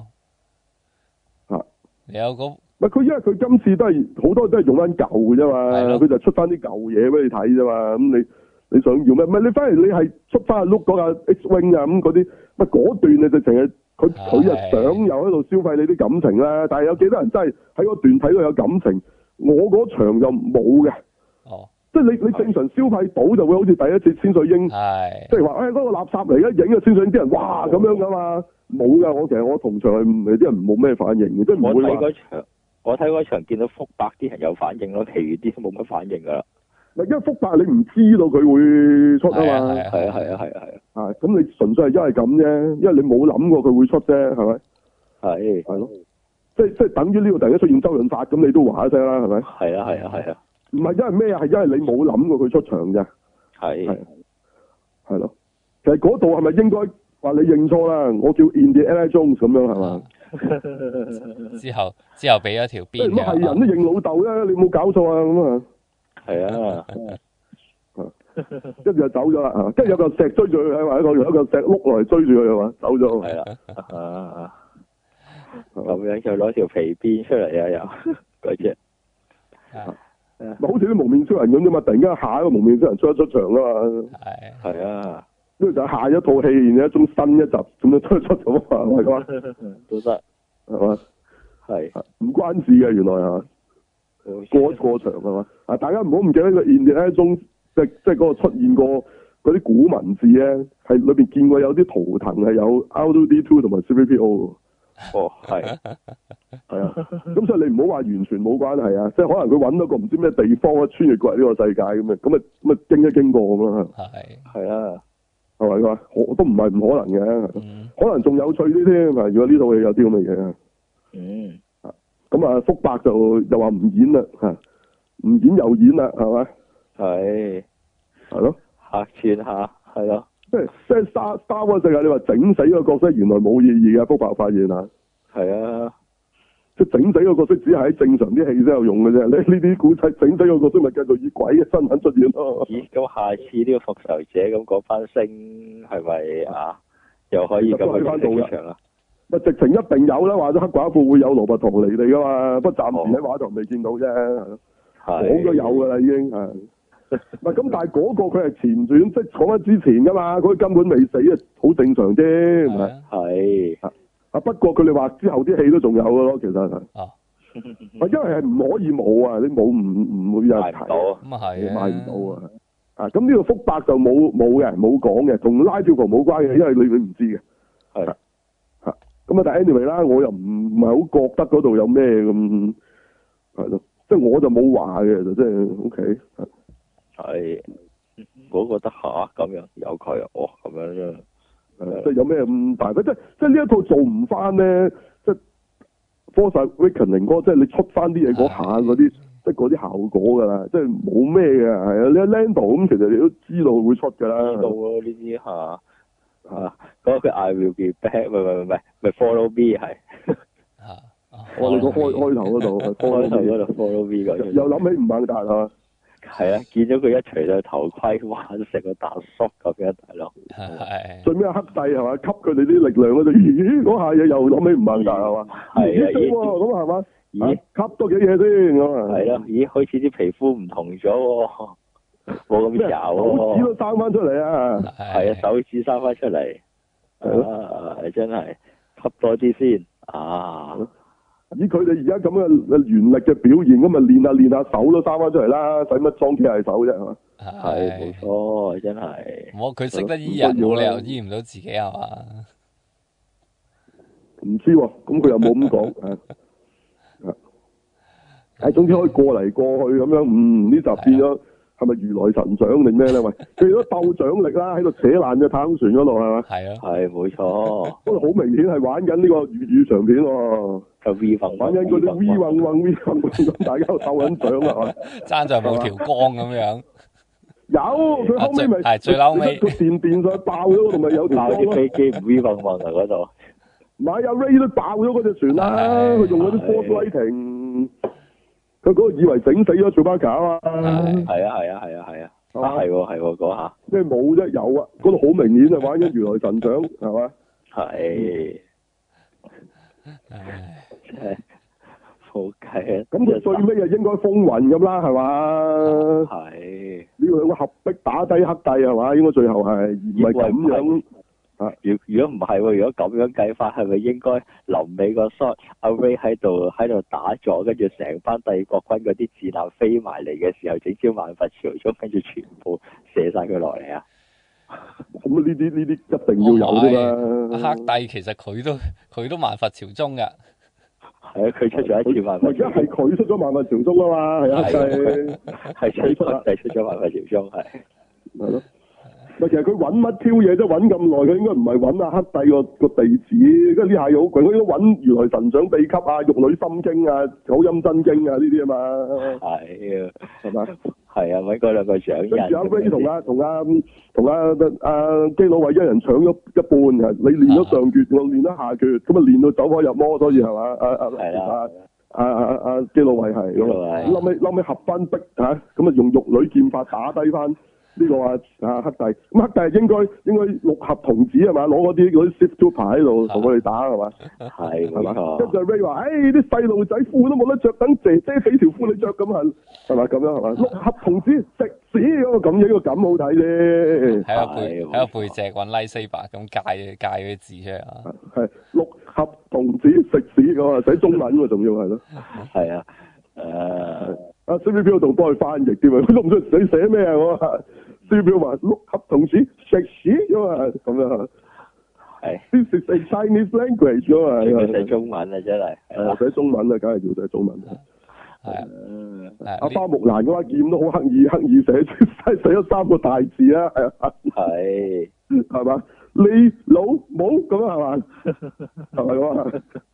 有佢因為佢今次都係好多都係用翻舊嘅啫嘛，佢就出翻啲舊嘢俾你睇啫嘛。咁你想要咩？唔係你反而你係出翻阿 Luke 嗰架 X-Wing 啊咁嗰啲，嗰段你就淨係佢啊想又喺度消費你啲感情啦。但係有幾多人真係喺嗰段睇到有感情？我嗰場就冇嘅。即係你正常消費到就會好似第一次千歲鷹，即係話嗰個垃圾嚟嘅，影嘅千歲鷹啲人哇咁樣噶嘛。冇㗎，其實我同場係啲人冇咩反應嘅，即係唔會話。 我睇嗰場見到福伯啲人有反應咯，其餘啲都冇乜反應㗎啦。 因為福伯你唔知道佢會出啊嘛。 係啊。 咁你純粹係因為咁啫，因為你冇諗過佢會出啫，係咪？係咯。即係等於呢個突然間出現周潤發，咁你都話一聲啦，係咪？係啊。唔係因為咩啊？係因為你冇諗過佢出場啫。係咯。其實嗰度係咪應該話你認錯啦？我叫 Indiana Jones 咁樣係嘛？ 之後俾咗條邊嘅。 係人都認老豆啫，你冇搞錯啊咁啊！ 係啊。 跟住就走咗啦，跟住有個石追住佢，或者有一個石碌落嚟追住佢係嘛？走咗。係啦。咁樣就攞條皮鞭出嚟啊！又嗰隻。 好似啲蒙面超人咁啫嘛！突然間下一個蒙面超人出場啊嘛。 係啊。 跟住就下一套戲，然後一種新一集咁樣出咗啊！係嘛？ 都得係嘛？ 係唔關事嘅，原來係嘛？過場係嘛？大家唔好唔記得個 Indiana Jones 即係嗰個出現過嗰啲古文字咧，係裏邊見過有啲圖騰係有 R2D2 同埋 C3PO。 係啊，咁所以你唔好話完全冇關係啊，即係可能佢揾到個唔知咩地方啊，穿越過嚟呢個世界咁啊經過咁啦。係啊，係咪佢話？都唔係唔可能嘅。 可能仲有趣啲添。如果呢套戲有啲咁嘅嘢。 嗯。 咁啊，福伯就又話唔演啦，唔演又演啦，係咪？ 係。 係咯。 客串下，係咯。 即係 Star Wars 世界，你話整死個角色原來冇意義嘅，福伯發現啊。係啊。 即係整死個角色只係喺正常啲戲先有用嘅啫。你呢啲古仔整死個角色咪繼續以鬼嘅身份出現咯。 咦？咁下次呢個復仇者咁嗰班星係咪啊？又可以咁去翻到場啊？ 咪直情一定有啦，話咗黑寡婦會有羅拔唐尼嚟噶嘛，不過暫時喺畫頭未見到啫。講咗有噶啦，已經係。唔係咁，但係嗰個佢係前傳，即係講翻之前噶嘛，佢根本未死啊，好正常啫，係咪？係。不過佢哋話之後啲戲都仲有噶咯，其實係。因為係唔可以冇啊，你冇唔會有人睇。 咁啊係。 買唔到啊！咁呢個福伯就冇講嘅，同拉票房冇關嘅，因為你唔知嘅。係。咁啊，但係 anyway 啦，我又唔係好覺得嗰度有咩咁係咯，即係我就冇話嘅，就即係 OK。 係。我覺得下咁樣有佢咁樣啫。 即係有咩咁大？即係呢一套做唔翻咧，即係 Force Awakens 嗰，即係你出翻啲嘢嗰下嗰啲，即係嗰啲效果㗎啦，即係冇咩嘅，係啊！你 Lando 咁，其實你都知道會出㗎啦。知道咯，呢啲嗰個 I will be back， 唔係 Follow me 係。我哋個開頭嗰度，Follow me 嗰又諗起吳孟達係嘛？ 係啊，見咗佢一除咗頭盔，哇！成個大叔咁樣，大佬。 係。 最尾黑帝係嘛？吸佢哋啲力量嗰度，咦？嗰下嘢又諗起吳孟達係嘛？係啊，咁係嘛？咦？吸多幾嘢先咁啊？係咯，咦？開始啲皮膚唔同咗喎，冇咁油喎。手指都生翻出嚟啊！係啊，手指生翻出嚟。係真係吸多啲先啊！以佢哋而家咁嘅原力嘅表現，咁咪練下手都生翻出嚟啦，使乜裝機械手啫？係嘛？係冇錯，真係。 佢識得醫人，冇理由醫唔到自己係嘛？ 唔知喎，咁佢又冇咁講。總之可以過嚟過去咁樣，呢集變咗係咪如來神掌定咩咧？喂，佢都鬥掌力啦，喺度扯爛隻太空船嗰度係嘛？係啊，係冇錯。不過好明顯係玩緊呢個粵語長片喎。就 V 運玩緊嗰啲 V 運咁，大家鬥緊獎係嘛？ 爭在冇條光咁樣。 有佢後尾咪係最嬲尾個電上爆咗嗰度咪有條光咯。 飛機 V 運啊嗰度。 唔係阿 Ray 都爆咗嗰隻船啦，佢用嗰啲 force lighting，佢嗰個以為整死咗做巴卡啊嘛。係啊，係喎嗰下。咩冇啫？有啊，嗰度好明顯啊，玩緊如來神掌係嘛？係。係。好計啊！咁佢最尾啊應該風雲咁啦，係嘛？係。呢個兩個合璧打低黑帝係嘛？應該最後係而唔係咁樣。如果唔係喎，如果咁樣計法，係咪應該臨尾個 shot 阿 Ray 喺度打坐，跟住成班帝國軍嗰啲子彈飛埋嚟嘅時候，整招萬佛朝宗，跟住全部射晒佢落嚟啊！咁呢啲一定要有啫嘛！ 黑帝其實佢都萬佛朝宗噶。 係啊，佢出咗一次萬佛。 而家係佢出咗萬佛朝宗啊嘛，係啊，係佢出咗萬佛朝宗係。 係咯。其實佢揾乜挑嘢啫？揾咁耐，佢應該唔係揾阿黑帝個地址，因為呢下嘢好貴，佢應該揾如來神掌秘笈啊、玉女心經啊、九陰真經啊呢啲啊嘛。係啊，係嘛？係啊，揾嗰兩個獎人。跟住阿 Ray 同阿基魯維一人搶咗一半嘅，你練咗上決，我練咗下決，咁啊練到走火入魔，所以係嘛？阿基魯維係咁啊，後尾合翻璧嚇，咁啊用玉女劍法打低翻。呢個黑帝，咁黑帝係應該六合童子係嘛？攞嗰啲 Sith Trooper 喺度同佢哋打係嘛？係嘛？跟住 Ray 話：，啲細路仔褲都冇得着，等姐姐俾條褲你着咁係嘛？咁樣係嘛？六合童子食屎咁咁樣，呢個咁好睇啫。 喺個背脊揾拉西伯咁界嗰啲字出嚟啊！ 係六合童子食屎咁啊！寫中文喎，仲要係咯。係啊，阿 CVB 仲幫佢翻譯添啊！佢都唔知你寫咩啊！我話 CVB 話六合童子食屎咁啊！咁樣係 This is a Chinese language 咁啊！要寫中文啊，真係寫中文啊，梗係要寫中文啊！係阿花木蘭嗰把劍都好刻意寫咗3個大字啊！係嘛？ 你老母咁係嘛？係咪咁啊？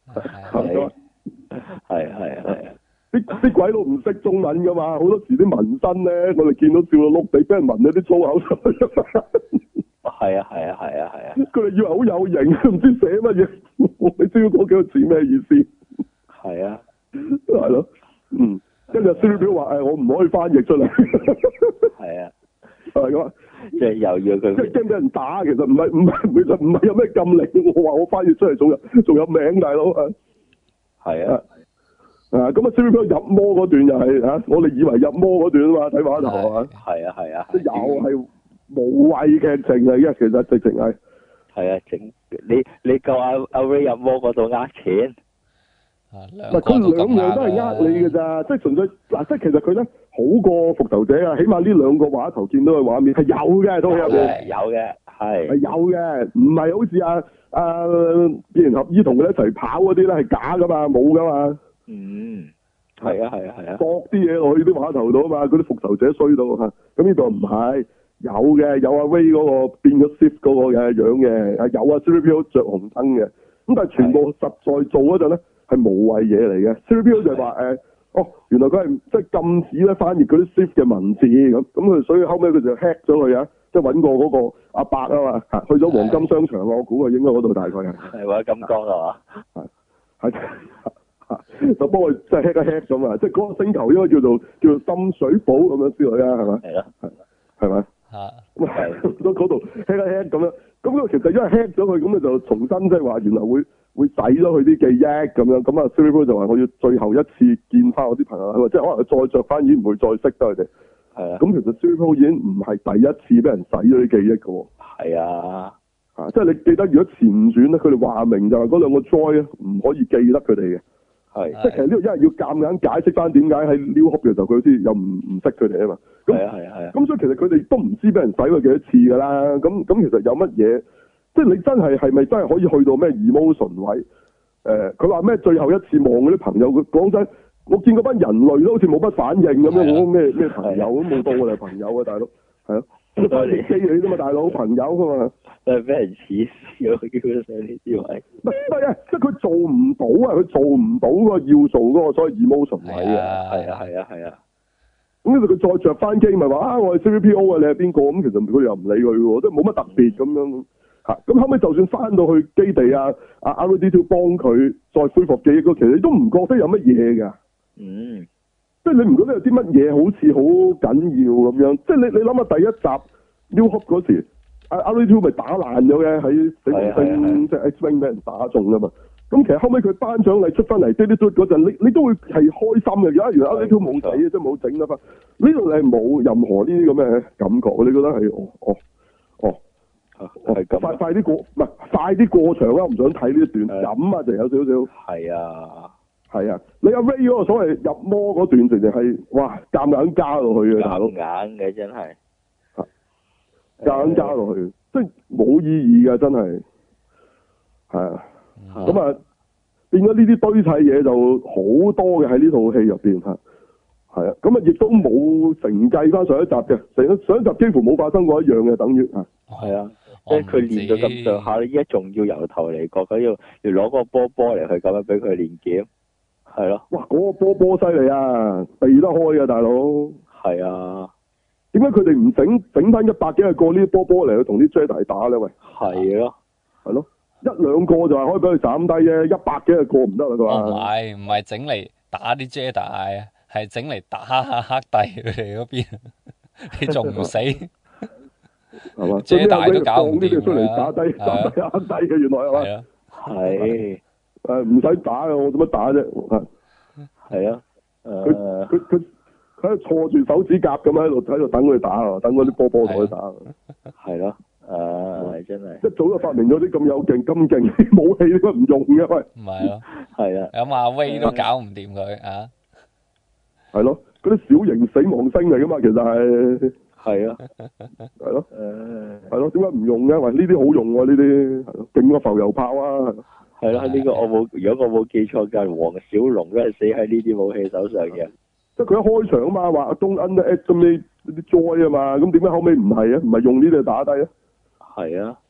係。 啲鬼佬唔識中文噶嘛，好多時啲紋身咧，我哋見到笑到碌地，俾人紋咗啲粗口上去。 係啊。 佢哋以為好有型，唔知寫乜嘢，你知唔知嗰幾個字咩意思？ 係啊。 係咯，跟住 C3PO 話我唔可以翻譯出嚟。係啊。係咁啊。 即係又要佢。即係驚俾人打，其實唔係有咩禁令，我話我翻譯出嚟仲有名，大佬啊。係啊。咁啊 C3PO 入魔嗰段又係我哋以為入魔嗰段啊嘛，睇碼頭係嘛？係啊。即又係無謂劇情嚟嘅，其實直情係。係啊，你夠阿 Ray 入魔嗰度呃錢。佢兩樣都係呃你㗎咋，即係純粹嗱，即係其實佢咧好過復仇者啊，起碼呢兩個畫頭見到嘅畫面係有嘅，都有嘅。有嘅，係有嘅，唔係好似變形俠醫同佢一齊跑嗰啲咧係假噶嘛，冇噶嘛。係啊，搏啲嘢落去啲碼頭度啊嘛，嗰啲復仇者衰到嚇，咁呢度唔係有嘅，有阿 Ray 嗰個變咗 Sith 嗰個嘅樣嘅，有啊 C3PO 着紅燈嘅，咁但係全部實在做嗰陣咧係無謂嘢嚟嘅。C3PO 就係話原來佢係即係禁止咧翻譯嗰啲 Sith 嘅文字咁佢所以後尾佢就 hack 咗佢啊，即係揾過嗰個阿伯啊嘛，去咗黃金商場我估佢應該嗰度大概係或者金剛係嘛？係。就幫佢即係 hack 一 hack 咁啊！即係嗰個星球應該叫做深水埗咁樣之類啊，係嘛？係咯，係咪？咁嗰度 hack 一 hack 咁樣，咁佢其實因為 hack 咗佢，咁你就重新即係話原來會洗咗佢啲記憶咁樣，咁啊 C3PO 就話我要最後一次見翻我啲朋友，即係可能再着翻已經唔會再識得佢哋。係啊。咁其實 C3PO 已經唔係第一次俾人洗咗啲記憶㗎喎。係啊。即係你記得如果前傳咧，佢哋話明就係嗰兩個 Droid 唔可以記得佢哋嘅。係，即係其實呢度因為要夾硬解釋翻點解喺 New Hope 嘅時候佢好似又唔識佢哋啊嘛。係。咁所以其實佢哋都唔知俾人洗過幾多次㗎啦。咁其實有乜嘢？即係你真係咪真係可以去到咩 emotion 位？佢話咩最後一次望嗰啲朋友，佢講真，我見嗰班人類都好似冇乜反應咁樣，我咩朋友都冇當我哋係朋友啊，大佬。係啊。都係機你啫嘛，大佬朋友㗎嘛。都係俾人恥笑，基本上呢啲位。唔係啊，即係佢做唔到啊，佢做唔到個要做嗰個所謂 emotion 位啊。係啊。咁佢再着翻機，咪話我係 C3PO 啊，你係邊個？咁其實佢又唔理佢喎，即係冇乜特別咁樣嚇。咁後尾就算翻到去基地啊，R2-D2 幫佢再恢復記憶，其實你都唔覺得有乜嘢㗎。即係你唔覺得有啲乜嘢好似好緊要咁樣？即係你諗下第一集 New Hope 嗰時，R2-D2 咪打爛咗嘅喺死亡星，即係 X-Wing 俾人打中㗎嘛。咁其實後尾佢頒獎禮出翻嚟，嗰陣，你都會係開心嘅。而家原來 R2-D2 冇死，即係冇整得翻。呢度你係冇任何呢啲咁嘅感覺，你覺得係係咁快啲過，唔係快啲過場啦！我唔想睇呢一段飲啊，就有少少。係啊，你阿 Ray 嗰個所謂入魔嗰段，直情係哇夾硬加落去嘅，大佬。夾硬嘅真係。夾硬加落去，即係冇意義嘅，真係。係啊。咁啊，變咗呢啲堆砌嘢就好多嘅喺呢套戲入邊嚇。係啊，咁啊亦都冇承繼翻上一集嘅，上一集幾乎冇發生過一樣嘅，等於嚇。係啊。即係佢練到咁上下，依家仲要由頭嚟過，佢要攞個波嚟去咁樣俾佢練劍。係咯，哇！嗰個波犀利啊，避得開啊，大佬。係啊，點解佢哋唔整翻100幾個呢啲波嚟去同啲 Jedi 打咧？喂，係咯，一兩個就係可以俾佢斬低啫，100幾個唔得啦，佢話。唔係整嚟打啲 Jedi，係整嚟打下黑帝佢哋嗰邊，你仲唔死？係嘛？Jedi都搞唔掂出嚟打低黑帝嘅，原來係嘛？係啊，係。唔使打嘅，我做乜打啫？係啊，佢喺度錯住手指甲咁喺度等佢打啊，等嗰啲波同佢打。係咯，真係。一早就發明咗啲咁有勁、咁勁啲武器，點解唔用嘅？喂，唔係咯，係啊，咁阿威都搞唔掂佢啊。係咯，嗰啲小型死亡星嚟噶嘛，其實係。係啊，係咯，係咯，點解唔用嘅？喂，呢啲好用喎，呢啲係咯，勁過浮油炮啊！係啦，呢個如果我冇記錯，就係黃小龍都係死喺呢啲武器手上嘅。即係佢一開場啊嘛，話 Don't underestimate 啲 joy 啊嘛，咁點解後尾唔係啊？唔係用呢啲打低啊？係啊，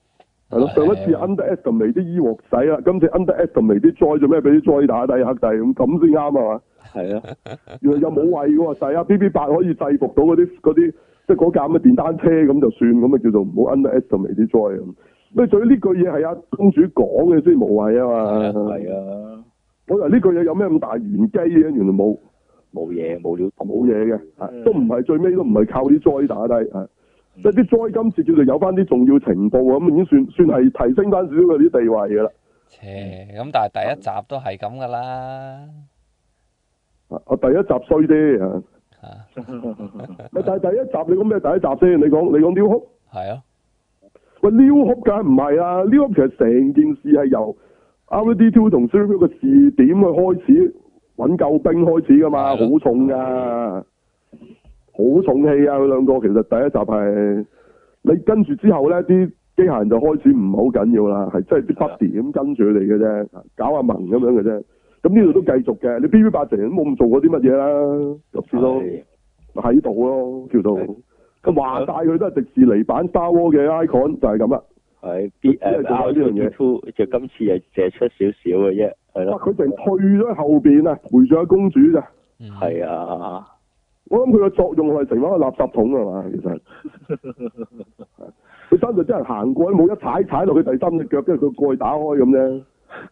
係咯，上一次 underestimate 啲醫鑊使啦，今次 underestimate 啲災做咩？俾啲災打低黑帝咁先啱啊嘛？ 係啊， 原來又冇謂嘅喎，使啊 BB8可以制服到嗰啲即係嗰架咁嘅電單車咁就算，咁啊叫做唔好 underestimate 啲災咁。咁最呢句嘢係阿公主講嘅先無謂啊嘛。 係啊， 我以為呢句嘢有咩咁大玄機嘅，原來冇嘢冇料冇嘢嘅，都唔係最尾都唔係靠啲災打低啊。即係啲災今次叫做有翻啲重要情報咁，已經算係提升翻少少佢啲地位噶啦。 咁但係第一集都係咁噶啦。 我第一集衰啲啊。但係第一集你講咩？第一集先，你講 New Hope？ 係啊。 喂 New Hope 梗係唔係啦 ？New Hope 其實成件事係由 RD2 同 Serial 嘅視點去開始揾救兵開始噶嘛，好重噶。好重氣啊！佢兩個其實第一集係你跟住之後咧，啲機械人就開始唔係好緊要啦，係即係啲 buddy 咁跟住佢哋嘅啫，搞下萌咁樣嘅啫。咁呢度都繼續嘅，你 BB8成日都冇咁做過啲乜嘢啦，就算咯，喺度咯，叫做咁話晒佢都係迪士尼版 Star Wars 嘅 icon 就係咁啦。 係R2 就今次係借出少少嘅啫，係咯。 佢成退咗後邊啊，陪住阿公主咋。 係啊。 我諗佢個作用係成為一個垃圾桶係嘛，其實佢真係真係行過，冇一踩落去第三隻腳，跟住佢過去打開咁啫。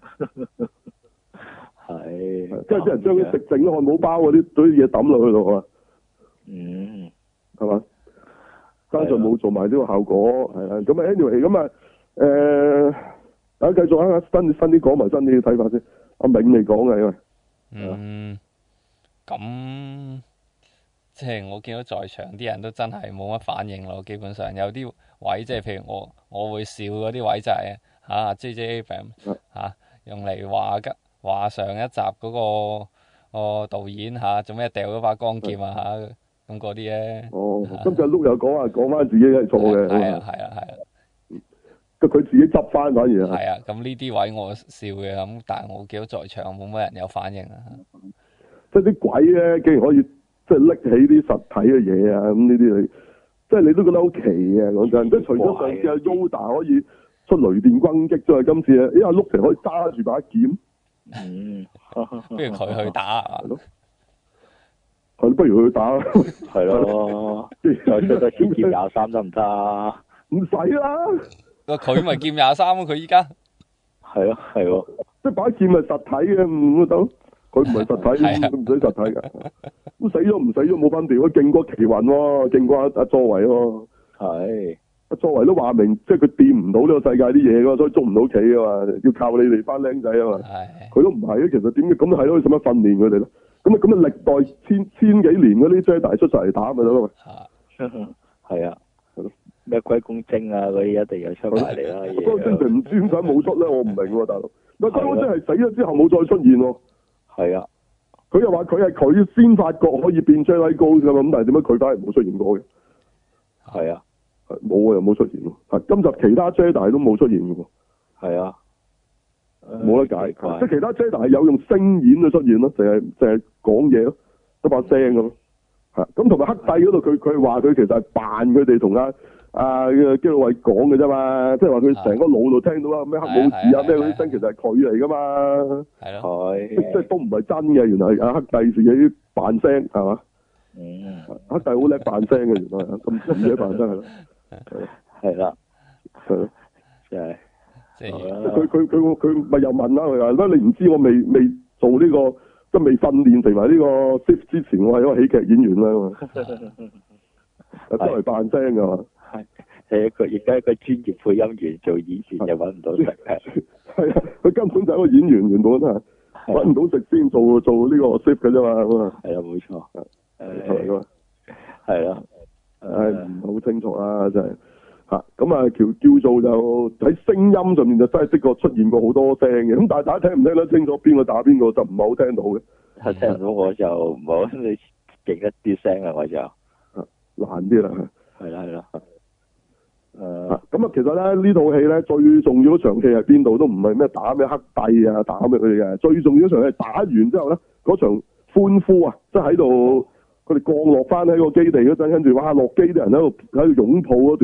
係，即係啲人將啲食剩漢堡包嗰啲嘢抌落去度啊。係嘛？加上冇做埋呢個效果，係啦。咁啊，anyway，咁啊，大家繼續啊，新啲講埋新啲嘅睇法先。阿銘未講嘅，因為咁。即係我見到在場啲人都真係冇乜反應咯，基本上有啲位即係譬如我會笑嗰啲位就係J.J. Abrams 用嚟話上一集嗰個導演做咩掉咗把光劍咁嗰啲咧。 今次碌又講翻自己係錯嘅。係啊。佢自己執翻反而係啊，咁呢啲位我笑嘅咁，但係我見到在場冇乜人有反應啊。 即係啲鬼咧，竟然可以〜即係拎起啲實體嘅嘢啊！咁呢啲你，即係你都覺得好奇嘅講真。即係除咗上次阿 Yoda 可以出雷電轟擊之外，今次阿碌成可以揸住把劍。 不如佢去打咯。係不如佢去打。 係咯。再出多劍23得唔得？ 唔使啦。 佢咪劍23咯？佢依家。 係咯，係喎。 即係把劍係實體嘅，唔得。佢唔係實體，佢唔使實體㗎。咁死咗唔死咗冇分別，佢勁過奇雲喎，勁過阿作為喎。係。阿作為都話明，即係佢掂唔到呢個世界啲嘢㗎，所以捉唔到棋㗎嘛，要靠你哋班僆仔啊嘛。係。佢都唔係啊，其實點嘅咁係咯，使乜訓練佢哋咧？咁啊歷代千幾年嗰啲 Jedi 出晒嚟打咪得咯。 係啊。咩龜公精啊嗰啲一定有出埋嚟啦。 龜公精唔知點解冇出咧，我唔明喎，大佬。龜公精係死咗之後冇再出現喎。係啊，佢又話佢係佢先發覺可以變 Jedi Ghost 㗎嘛，咁但係點解佢反而冇出現過嘅？係啊，冇啊，又冇出現喎。今集其他 Jedi 都冇出現嘅喎。係啊，冇得解，即係其他 Jedi 係有用聲演去出現咯，淨係講嘢咯，一把聲咁咯。係咁同埋黑帝嗰度，佢話佢其實係扮佢哋同基魯衛講嘅啫嘛，即係話佢成個腦度聽到啦，咩黑武士啊咩嗰啲聲，其實係佢嚟噶嘛。係咯。係。即係都唔係真嘅，原來係黑帝自己扮聲係嘛？黑帝好叻扮聲嘅，原來咁自己扮聲係咯。係啦。係咯。即係。即係佢咪又問啦，佢話乜你唔知我未做呢個，即係未訓練成為呢個 Sith 之前，我係一個喜劇演員啦嘛。都係扮聲噶嘛。係一個而家一個專業配音員做演員又揾唔到食係啊，佢根本就係一個演員，原本係揾唔到食先做呢個 Sith 嘅啫嘛，咁啊係啊，冇錯，係嘛，係啦，唔係好清楚啦，真係咁啊叫做就喺聲音上面就真係的確出現過好多聲嘅，咁但係大家聽唔聽得清楚邊個打邊個就唔係好聽到嘅，係聽唔到我就唔好你勁一啲聲啊，我就難啲啦，係啦。咁啊，其實咧呢套戲咧最重要嗰場戲係邊度？都唔係咩打咩黑帝啊，打咩佢哋嘅。最重要嗰場係打完之後咧，嗰場歡呼啊，即係喺度佢哋降落翻喺個基地嗰陣，跟住哇落機啲人喺度擁抱嗰段，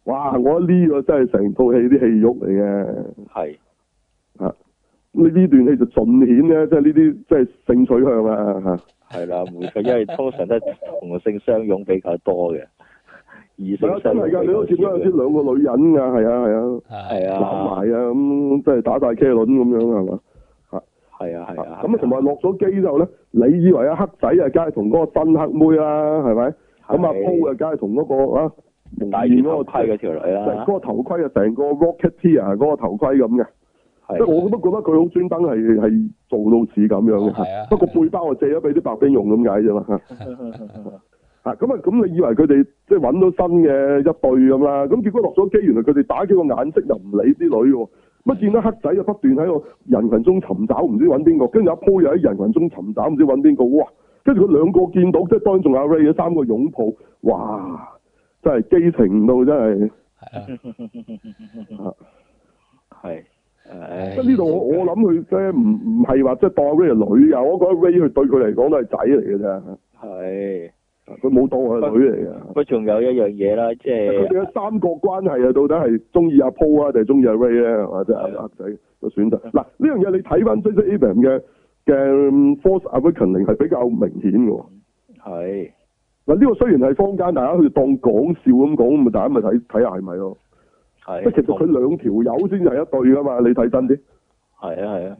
哇！我覺得呢個真係成套戲啲戲肉嚟嘅。 係。 呢段戲就盡顯咧，即係呢啲即係性取向啊嚇。 係啦，冇錯，因為通常都係同性相擁比較多嘅，異性相擁比較少。 你都見到有啲兩個女人㗎，係啊，攬埋啊咁，即係打大茄輪咁樣係嘛？ 係啊。 咁啊，同埋落咗機之後咧，你以為阿黑仔啊，梗係同嗰個新黑妹啦，係咪？咁阿鋪啊，梗係同嗰個啊戴住頭盔嗰條女啦。 即係嗰個頭盔啊，成個 Rocketeer 嗰個頭盔咁嘅。即係我都覺得佢好專登係做到似咁樣嘅。不過背包我借咗俾啲白兵用咁解啫嘛。咁你以為佢哋即係揾到新嘅一對咁啦？咁結果落咗機，原來佢哋打幾個眼色又唔理啲女喎。乜見到黑仔就不斷喺個人群中尋找，唔知揾邊個，跟住阿鋪又喺人群中尋找，唔知揾邊個。哇！跟住佢兩個見到，即係當然仲有阿 Ray 嘅三個擁抱，哇！真係基情到真係。 係。 即係呢度我諗佢即係唔係話即係當阿 Ray 係女啊，我覺得 Ray 佢對佢嚟講都係仔嚟嘅啫。 係。 佢冇當佢係女嚟嘅。 不過仲有一樣嘢啦，即係佢哋嘅三角關係啊，到底係中意阿 Paul 啊，定係中意阿 Ray 咧？或者阿黑仔嘅選擇。嗱，呢樣嘢你睇翻 J.J. Abrams 嘅 Force Awakening 係比較明顯嘅。係。嗱，呢個雖然係坊間大家去當講笑咁講，咁大家咪睇下係咪咯？係。即係其實佢兩條友先係一對噶嘛，你睇真啲。係啊。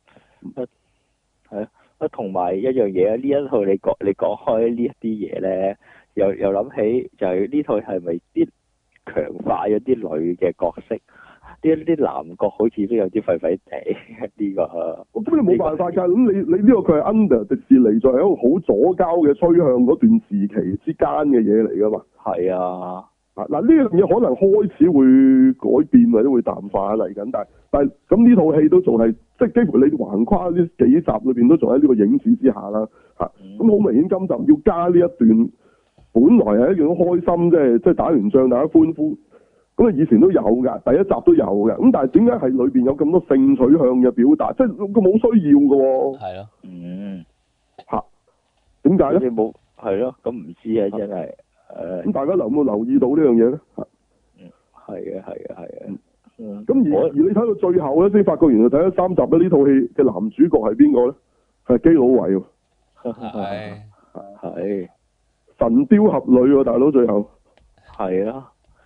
係啊。同埋一樣嘢呢一套你講開呢一啲嘢咧，又諗起就係呢套係咪啲強化咗啲女嘅角色？啲男角好似都有啲廢廢地呢個。咁你冇辦法㗎，咁你呢個佢係 under 迪士尼，就係一個好左膠嘅趨向嗰段時期之間嘅嘢嚟㗎嘛。係啊。嗱呢樣嘢可能開始會改變或者會淡化嚟緊，但係咁呢套戲都仲係即係幾乎你橫跨呢幾集裏邊都仲喺呢個影子之下啦嚇。咁好明顯今集要加呢一段，本來係一件好開心，即係打完仗大家歡呼。咁啊以前都有㗎，第一集都有嘅。咁但係點解係裏邊有咁多性取向嘅表達？即係佢冇需要㗎喎。係咯。嚇？點解咧？你冇係咯？咁唔知啊，真係。咁大家有冇留意到呢樣嘢咧？係啊。咁而你睇到最後咧，先發覺原來睇咗3集咧，呢套戲嘅男主角係邊個咧？係基魯維喎。係。神雕俠侶喎，大佬最後。係啊。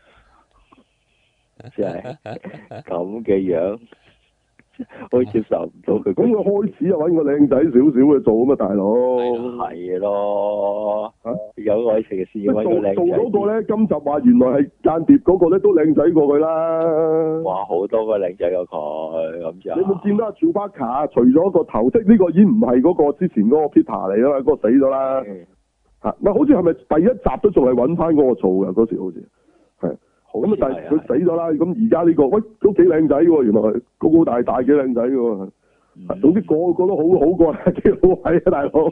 真係咁嘅樣。我接受唔到佢。咁佢開始就揾個靚仔少少嘅做啊嘛，大佬。係咯。有愛情嘅事要揾個靚仔。做嗰個咧，今集話原來係間諜嗰個咧，都靚仔過佢啦。哇！好多個靚仔過佢咁就。你有冇見到阿喬巴卡？除咗個頭飾呢個已經唔係嗰個之前嗰個 Peter 嚟啦，嗰個死咗啦。唔係好似係咪第一集都仲係揾翻嗰個做嘅嗰時好似係。咁啊！但係佢死咗啦。咁而家呢個喂都幾靚仔喎，原來高高大大幾靚仔喎。總之個個都好過基魯維啊，大佬。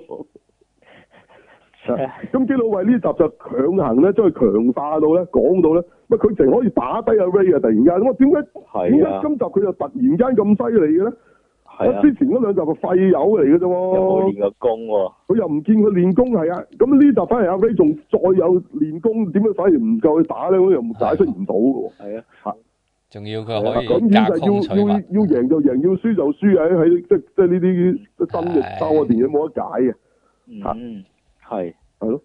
咁基魯維呢集就強行咧將佢強化到咧，講到咧，乜佢淨可以打低阿 Ray 啊！突然間，我點解今集佢就突然間咁犀利嘅咧？之前嗰兩集係廢友嚟嘅啫喎，有冇練過功喎？佢又唔見佢練功係啊，咁呢集反而阿 Ray 仲再有練功，點解反而唔夠佢打咧？我又解釋唔到嘅喎。係啊，仲要佢可以隔空取物。要贏就贏，要輸就輸啊！喺即係呢啲新嘅收嘅電影冇得解嘅。係咯。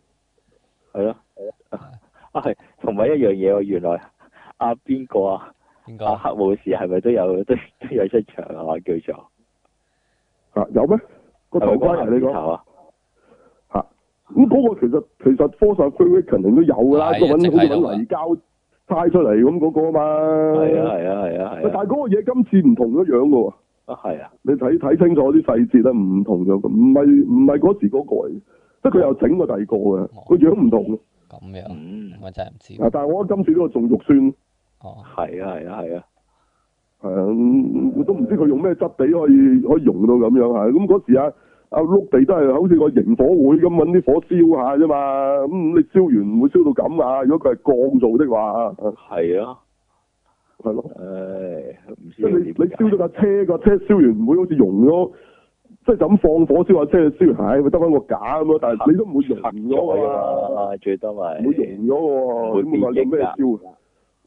係同埋一樣嘢喎，原來邊個啊？邊個？黑武士係咪都有出場啊？叫做。有咩？個頭盔你講咁嗰個其實 Force Awakens 都有㗎啦，好似揾泥膠猜出嚟咁嗰個啊嘛。係啊。但係嗰個嘢今次唔同咗樣㗎喎。係啊。你睇清楚啲細節啦，唔同咗，唔係嗰時嗰個嚟，即係佢又整過第二個嘅，個樣唔同。咁樣，我真係唔知。但係我覺得今次呢個仲肉酸。哦。係啊。係啊，我都唔知佢用咩質地可以溶到咁樣嚇。咁嗰時阿碌地都係好似個營火會咁揾啲火燒下啫嘛。咁你燒完唔會燒到咁啊？如果佢係鋼做的話，係啊，係咯。唔知即係你燒咗架車，個車燒完唔會好似溶咗，即係就咁放火燒下車，燒完咪得翻個架咁咯。但係你都唔會溶咗㗎嘛。最多咪唔會溶咗喎。咁你話用咩燒？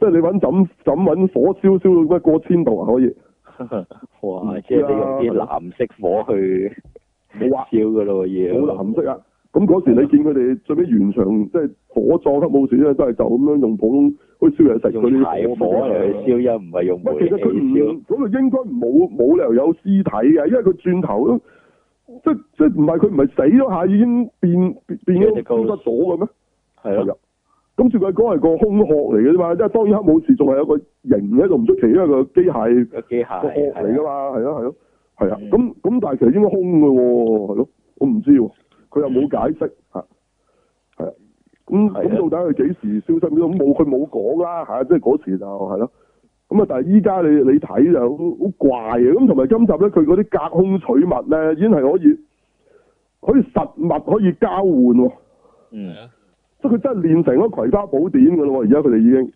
即係你揾揾火燒到咩過千度啊可以？ 哇！即係你用啲藍色火去冇啊燒噶咯要。 冇藍色啊！咁嗰時你見佢哋最尾完場即係火葬黑武士咧，都係就咁樣用普通好似燒嘢食嗰啲柴火嚟燒，又唔係用煤氣其實佢燒。 嗰度應該冇理由有屍體嘅，因為佢轉頭都即唔係佢唔係死咗下已經變咗消失咗嘅咩？ 係啊。 咁照佢講係個空殼嚟嘅啫嘛，即係當然黑武士仲係有個形喺度唔出奇，因為個機械個殼嚟噶嘛，係啊。咁但係其實應該空嘅喎，係咯，我唔知喎，佢又冇解釋嚇，係啊。咁到底佢幾時消失咗？佢冇講啦嚇，即係嗰時就係咯。咁啊，但係依家你睇就好怪嘅，咁同埋今集咧，佢嗰啲隔空取物咧，已經係可以實物可以交換喎。 嗯。 即係佢真係練成咗葵花寶典㗎咯喎！而家佢哋已經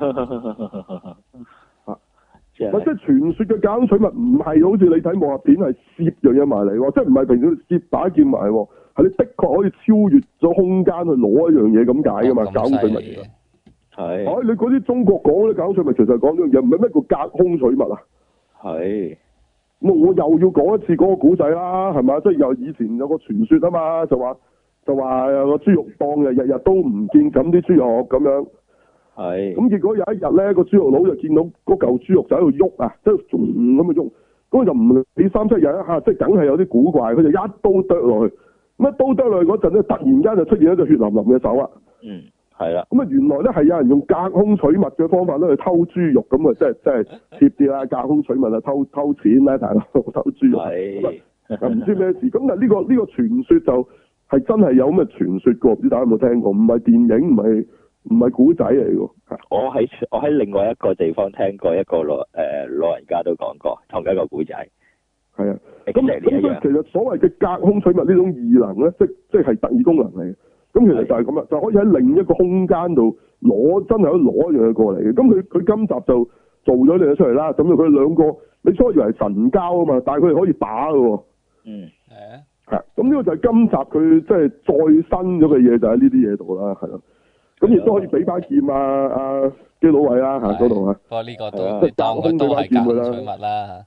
即係傳說嘅隔空取物，唔係好似你睇武俠片係攝樣嘢埋嚟喎，即係唔係平時攝打劍埋喎，係你的確可以超越咗空間去攞一樣嘢咁解㗎嘛？隔空取物其實係。你嗰啲中國講嗰啲隔空取物，其實係講呢樣嘢，唔係咩叫隔空取物啊？係。咁我又要講一次嗰個古仔啦，係嘛？即係又以前有個傳說啊嘛，就話有個豬肉檔日日都唔見咁啲豬肉咁樣，係。咁結果有一日咧，個豬肉佬就見到嗰嚿豬肉就喺度喐啊，即係仲咁去喐，咁就唔理三七廿一下，即係梗係有啲古怪，佢就一刀剁落去，咁一刀剁落去嗰陣咧，突然間就出現一隻血淋淋嘅手啊！嗯，係啦。咁啊，原來咧係有人用隔空取物嘅方法咧去偷豬肉，咁啊，即係貼啲啦，隔空取物啊，偷錢啦，大佬偷豬肉，係唔知咩事。咁但係呢個傳說就係真係有咁嘅傳說㗎，唔知大家有冇聽過？唔係電影，唔係古仔嚟㗎。 我喺另外一個地方聽過一個老人家都講過同一個古仔。係啊，咁所以其實所謂嘅隔空取物呢種異能咧，即係特異功能嚟嘅。咁其實就係咁啦，就可以喺另一個空間度真係可以攞一樣嘢過嚟嘅。咁佢今集就做咗呢嘢出嚟啦。咁佢兩個你初以為係神交啊嘛，但係佢哋可以打㗎喎。嗯，係啊。咁呢個就係今集佢即係再新咗嘅嘢，就喺呢啲嘢度啦，係咯。咁亦都可以俾把劍啊基佬位啦嗰度啊。不過呢個都當佢都係隔空取物啦。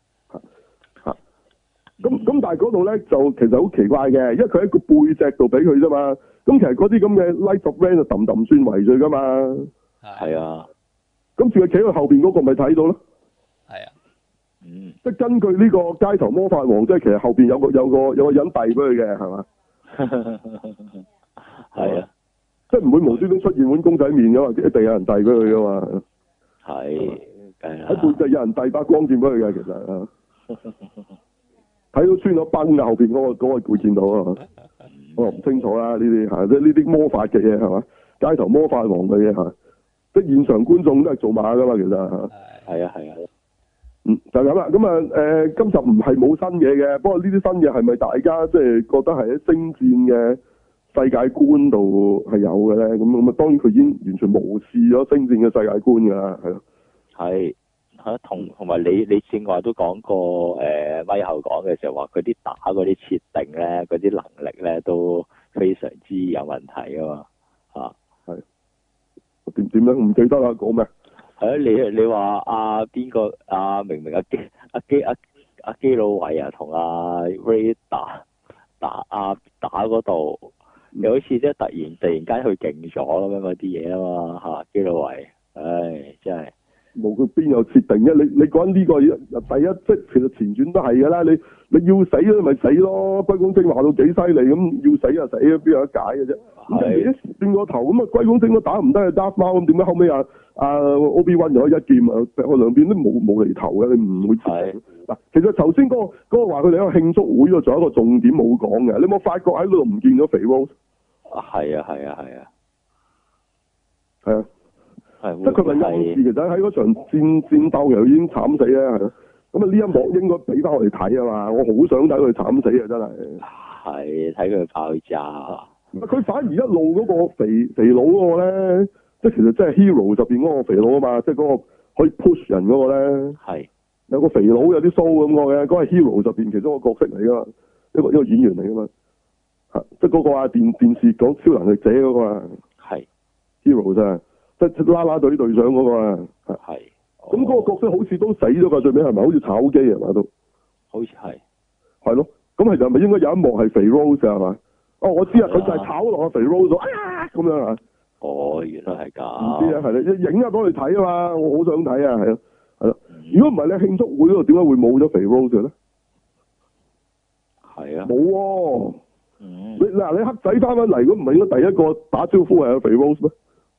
咁但係嗰度咧就其實好奇怪嘅，因為佢喺個背脊度俾佢啫嘛。咁其實嗰啲咁嘅 Light of Rain 就揼算圍住噶嘛。係啊。咁住佢企喺後邊嗰個咪睇到咯。係啊。嗯。即係根據呢個街頭魔法王，即係其實後邊有個人遞俾佢嘅，係嘛？係啊。即係唔會無端端出現碗公仔麵噶嘛，一定有人遞俾佢噶嘛。係。喺背脊有人遞把光劍俾佢嘅，其實睇到穿咗崩啊！後邊嗰個會見到啊，我唔清楚啦呢啲嚇，即係呢啲魔法嘅嘢係嘛？街頭魔法王嘅嘢嚇，即係現場觀眾都係做馬噶嘛，其實嚇。係啊。就係咁啦。咁啊今集唔係冇新嘢嘅，不過呢啲新嘢係咪大家即係覺得係喺星戰嘅世界觀度係有嘅咧？咁啊當然佢已經完全無視咗星戰嘅世界觀㗎啦，係咯。係。同埋你正話都講過咪後講嘅時候話佢啲打嗰啲設定咧，嗰啲能力咧都非常之有問題啊嘛係點樣唔記得啦講咩？係啊你話邊個明明阿基魯維同阿 Ray 打嗰度，又好似即係突然間佢勁咗咁樣嗰啲嘢啊嘛基魯維，唉真係。冇佢邊有設定啫？你講呢個第一即其實前傳都係㗎啦。你要死咧咪死咯。龜公精話到幾犀利咁，要死就死，邊有得解嘅啫？咁轉個頭咁啊，龜公精都打唔得啊，Darth Maul咁點解後尾Obi-Wan就可以一劍啊？我兩邊都冇厘頭嘅，你唔會知。嗱，其實頭先嗰個話佢哋喺個慶祝會度仲有一個重點冇講嘅，你有冇發覺喺嗰度唔見咗肥 Rose？係啊。即係佢咪暗示其實喺嗰場戰鬥又已經慘死咧，係咯。咁啊呢一幕應該俾翻我哋睇啊嘛，我好想睇佢慘死啊，真係。係睇佢爆炸。佢反而一路嗰個肥佬嗰個咧，即係其實即係 Hero 入邊嗰個肥佬啊嘛，即係嗰個可以 push 人嗰個咧。係。有個肥佬有啲鬚咁嘅，嗰個係 Hero 入邊其中一個角色嚟噶嘛，一個演員嚟噶嘛。即係嗰個電視講超能力者嗰個啊。係。Hero 真係。 即係啦啦隊隊長嗰個啊。 係。 咁嗰個角色好似都死咗㗎，最尾係咪？好似炒機係嘛都。好似係。係咯，咁其實係咪應該有一幕係肥 Rose 係嘛？哦，我知啊，佢就係炒落肥 Rose 咗，咁樣啊。哦，原來係咁。唔知啊，係啦，影下幫你睇啊嘛，我好想睇啊，係咯，係咯。如果唔係你慶祝會嗰度點解會冇咗肥 Rose 嘅咧？係啊。冇喎。你嗱，你黑仔翻嚟，如果唔係應該第一個打招呼係阿肥 Rose 咩？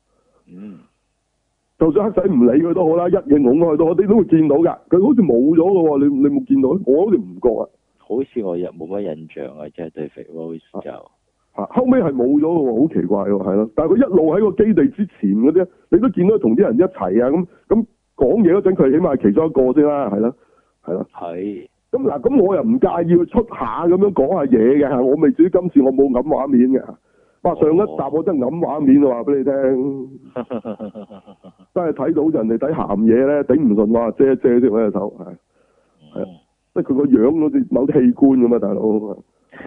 就算黑仔唔理佢都好啦，一嘢拱開都好，你都會見到㗎。佢好似冇咗嘅喎，你冇見到？我好似唔覺啊。好似我又冇乜印象啊，即係對肥 Rose 就。後尾係冇咗嘅喎，好奇怪喎，係咯。但係佢一路喺個基地之前嗰啲，你都見到同啲人一齊啊，咁講嘢嗰陣，佢起碼係其中一個先啦，係咯，係咯。係。咁嗱，咁我又唔介意佢出下咁樣講下嘢嘅，我未至於今次我冇揞畫面嘅。哇！上一集我真係揞畫面啊，話俾你聽。真係睇到人哋睇鹹嘢咧，頂唔順話遮一遮先喺隻手，係啊，即係佢個樣好似某啲器官咁啊，大佬。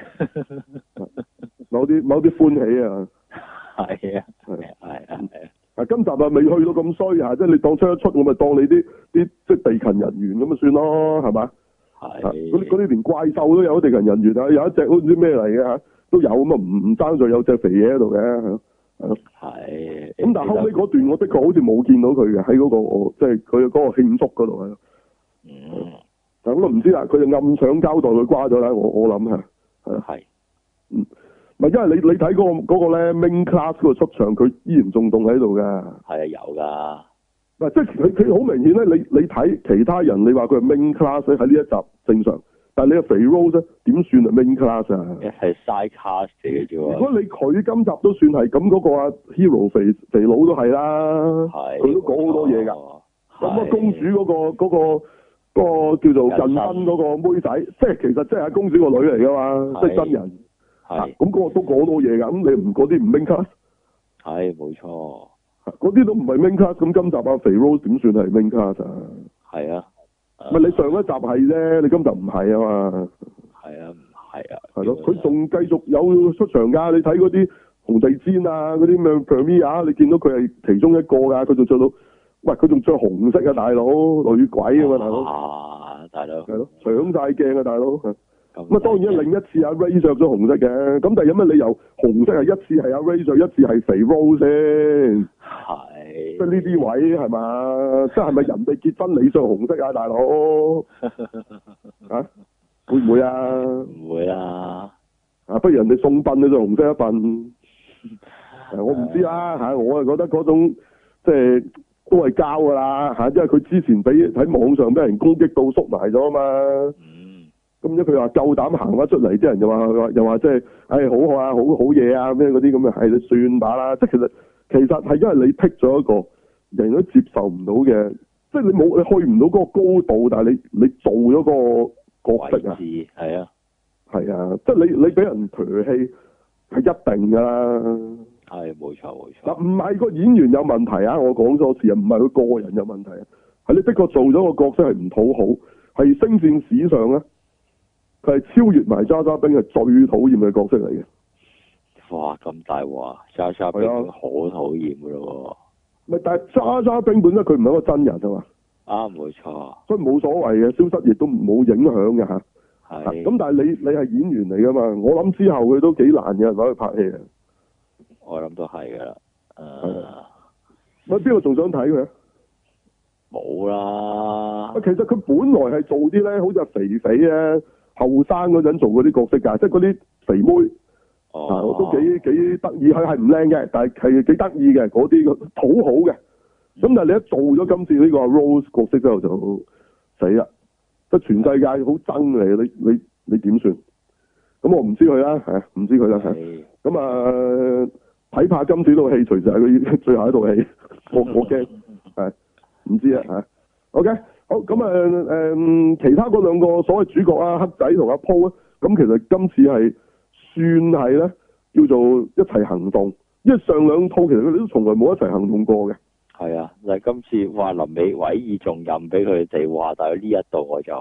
某啲歡喜啊。係啊。係啊。今集啊未去到咁衰啊，即係你當出一出，我咪當你啲即係地勤人員咁咪算咯，係嘛？係。嗰啲連怪獸都有地勤人員啊，有一隻好似啲咩嚟嘅嚇，都有咁啊，唔爭在有隻肥嘢喺度嘅，係咯。係。咁但係後尾嗰段我的確好似冇見到佢嘅喺嗰個即係佢嗰個慶祝嗰度係咯。但咁都唔知啦，佢就暗搶交代佢瓜咗啦，我諗係。係。咪因為你睇嗰個咧 main class 嗰個出場，佢依然仲凍喺度㗎。係啊，有㗎。唔即係佢好明顯咧，你睇其他人，你話佢係 main class 喺呢一集正常，但係你個肥 Rose 咧點算係 main class 啊？係 side class 嚟嘅啫喎。如果你佢今集都算係咁，嗰個啊 Hero 肥佬都係啦，佢都講好多嘢㗎。咁啊公主嗰個叫做近身嗰個妹仔，即係其實即係阿公主個女嚟㗎嘛，即係真人。係。咁嗰個都講好多嘢㗎，咁你唔嗰啲唔 main class？係，冇錯。嗰啲都唔係 main class，咁今集啊肥 Rose 點算係 main class 啊？係啊。咪你上一集係啫，你今集唔係啊嘛。係啊，唔係啊。係咯，佢仲繼續有出場㗎，你睇嗰啲紅地氈啊，嗰啲咩 Premiere，你見到佢係其中一個㗎，佢仲着到，喂，佢仲着紅色啊，大佬，女鬼啊嘛，大佬。啊，大佬。係咯，搶晒鏡啊，大佬。咁啊，當然另一次阿 Ray 着咗紅色嘅，咁但係有乜理由紅色係一次係阿 Ray 着，一次係肥 Rose 先？係。即係呢啲位係嘛？即係咪人哋結婚你着紅色啊，大佬？啊？會唔會啊？唔會啊！啊，不如人哋送殯你着紅色一殯。我唔知啦嚇，我係覺得嗰種即係都係膠㗎啦嚇，因為佢之前喺網上俾人攻擊到縮埋咗啊嘛。咁即佢話夠膽行翻出嚟，啲人又話即係，好啊，好嘢啊，咩嗰啲咁嘅，係你算把啦。即係其實係因為你剔咗一個人都接受唔到嘅，即係你去唔到嗰個高度，但係你做咗個角色啊，係啊，係啊，即係你俾人唾棄係一定㗎啦。係冇錯冇錯。嗱，唔係個演員有問題啊，我講多次啊，唔係佢個人有問題啊，係你的確做咗個角色係唔討好，係星戰史上咧。佢係超越埋渣渣兵係最討厭嘅角色嚟嘅。哇！咁大鑊，渣渣兵好討厭噶咯喎。咪但係渣渣兵本身佢唔係一個真人啊嘛。啊，冇錯。所以冇所謂嘅，消失亦都冇影響嘅嚇。係。咁但係你係演員嚟噶嘛？我諗之後佢都幾難嘅人攞去拍戲啊。我諗都係噶啦。咪邊個仲想睇佢啊？冇啦。其實佢本來係做啲咧，好似係肥肥咧。後生嗰陣做嗰啲角色㗎，即係嗰啲肥妹，都幾得意，佢係唔靚嘅，但係幾得意嘅嗰啲討好嘅。咁但係你一做咗今次呢個 Rose 角色之後就死啦，即係全世界好憎你，你點算？咁我唔知佢啦，唔知佢啦，咁啊睇怕今次呢套戲隨時係佢最後一套戲，我驚唔知啊嚇。OK。好咁其他嗰兩個所謂主角啊，黑仔同阿 Paul 咁其實今次係算係咧叫做一齊行動，因為上兩套其實佢哋都從來冇一齊行動過嘅。係啊，但係今次話臨尾委以重任俾佢哋話，但係呢一度我就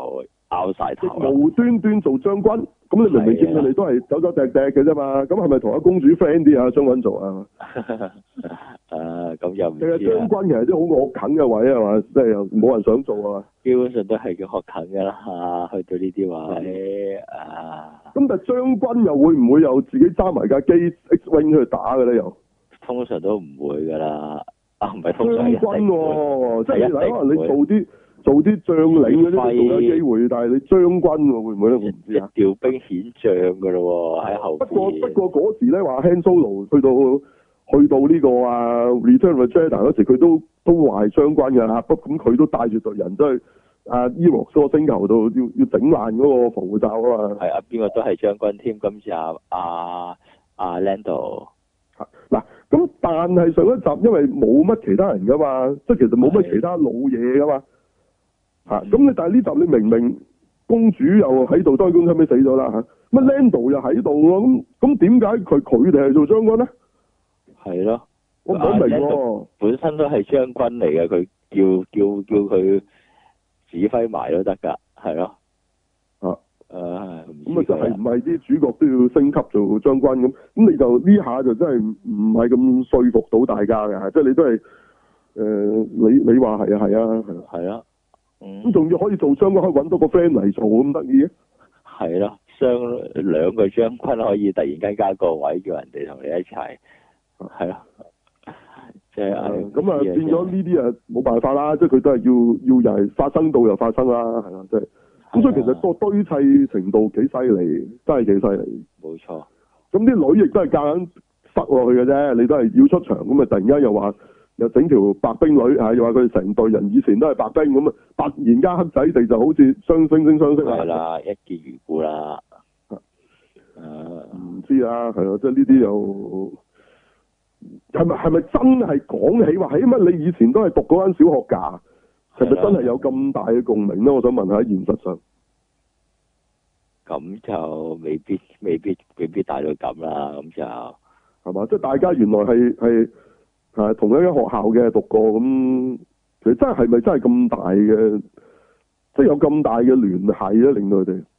拗晒頭啦。 無端端做將軍，咁你明明見佢哋都係走走趯趯嘅啫嘛，咁係咪同阿公主 friend 啲啊？將軍做啊？ 咁又唔知其實將軍其實啲好惡啃嘅位係嘛，即係又冇人想做啊。 基本上都係叫學啃㗎啦，去到呢啲位啊。 咁但係將軍又會唔會又自己揸埋架機 X-wing 去打嘅咧？又通常都唔會㗎啦。唔係通將常軍喎，即係你可能你做啲將領嗰啲仲有機會，但係你將軍喎會唔會咧？我唔知啊。 調兵遣將㗎咯喎，喺後邊。 不過嗰時咧話 Han Solo 去到呢個啊 Return of the Jedi 嗰時，佢都話係將軍㗎嚇，咁佢都帶住隊人都係啊 Ewoks 嗰個星球度要整爛嗰個防護罩啊嘛。 係啊，邊個都係將軍添，今次阿 Lando。 嗱，咁但係上一集因為冇乜其他人噶嘛，即係其實冇乜其他老嘢噶嘛，咁你但係呢集你明明公主又喺度，當然公主後尾死咗啦乜 Lando 又喺度喎，咁點解佢哋係做將軍咧？係咯， 我唔明喎。 本身都係將軍嚟嘅，佢叫佢指揮埋都得㗎，係咯。咁啊， 就係唔係啲主角都要升級做將軍咁？咁你就呢下就真係唔係咁說服到大家嘅，即係你都係你話係啊， 係啊， 咁仲要可以做將軍，可以揾到個 friend 嚟做咁得意嘅？ 係咯，兩個將軍可以突然間加個位，叫人哋同你一齊，係咯，即係咁啊，變咗呢啲啊冇辦法啦，即係佢都係要又係發生到又發生啦，係啦，即係。咁所以其實個堆砌程度幾犀利，真係幾犀利。 冇錯。咁啲女亦都係夾硬塞落去嘅啫，你都係要出場咁啊！突然間又話又整條白冰女又話佢哋成隊人以前都係白冰咁啊！突然間黑仔地就好似雙惺惺相識係啦，一見如故啦。 唔知啊，係咯，即係呢啲又係咪真係講起話？起碼你以前都係讀嗰間小學㗎？係咪真係有咁大嘅共鳴咧？我想問下，喺現實上， 咁就未必大到咁啦。咁就係嘛？即係大家原來係同一間學校嘅讀過咁，其實真係咪真係咁大嘅？即係有咁大嘅聯繫咧，令到佢哋。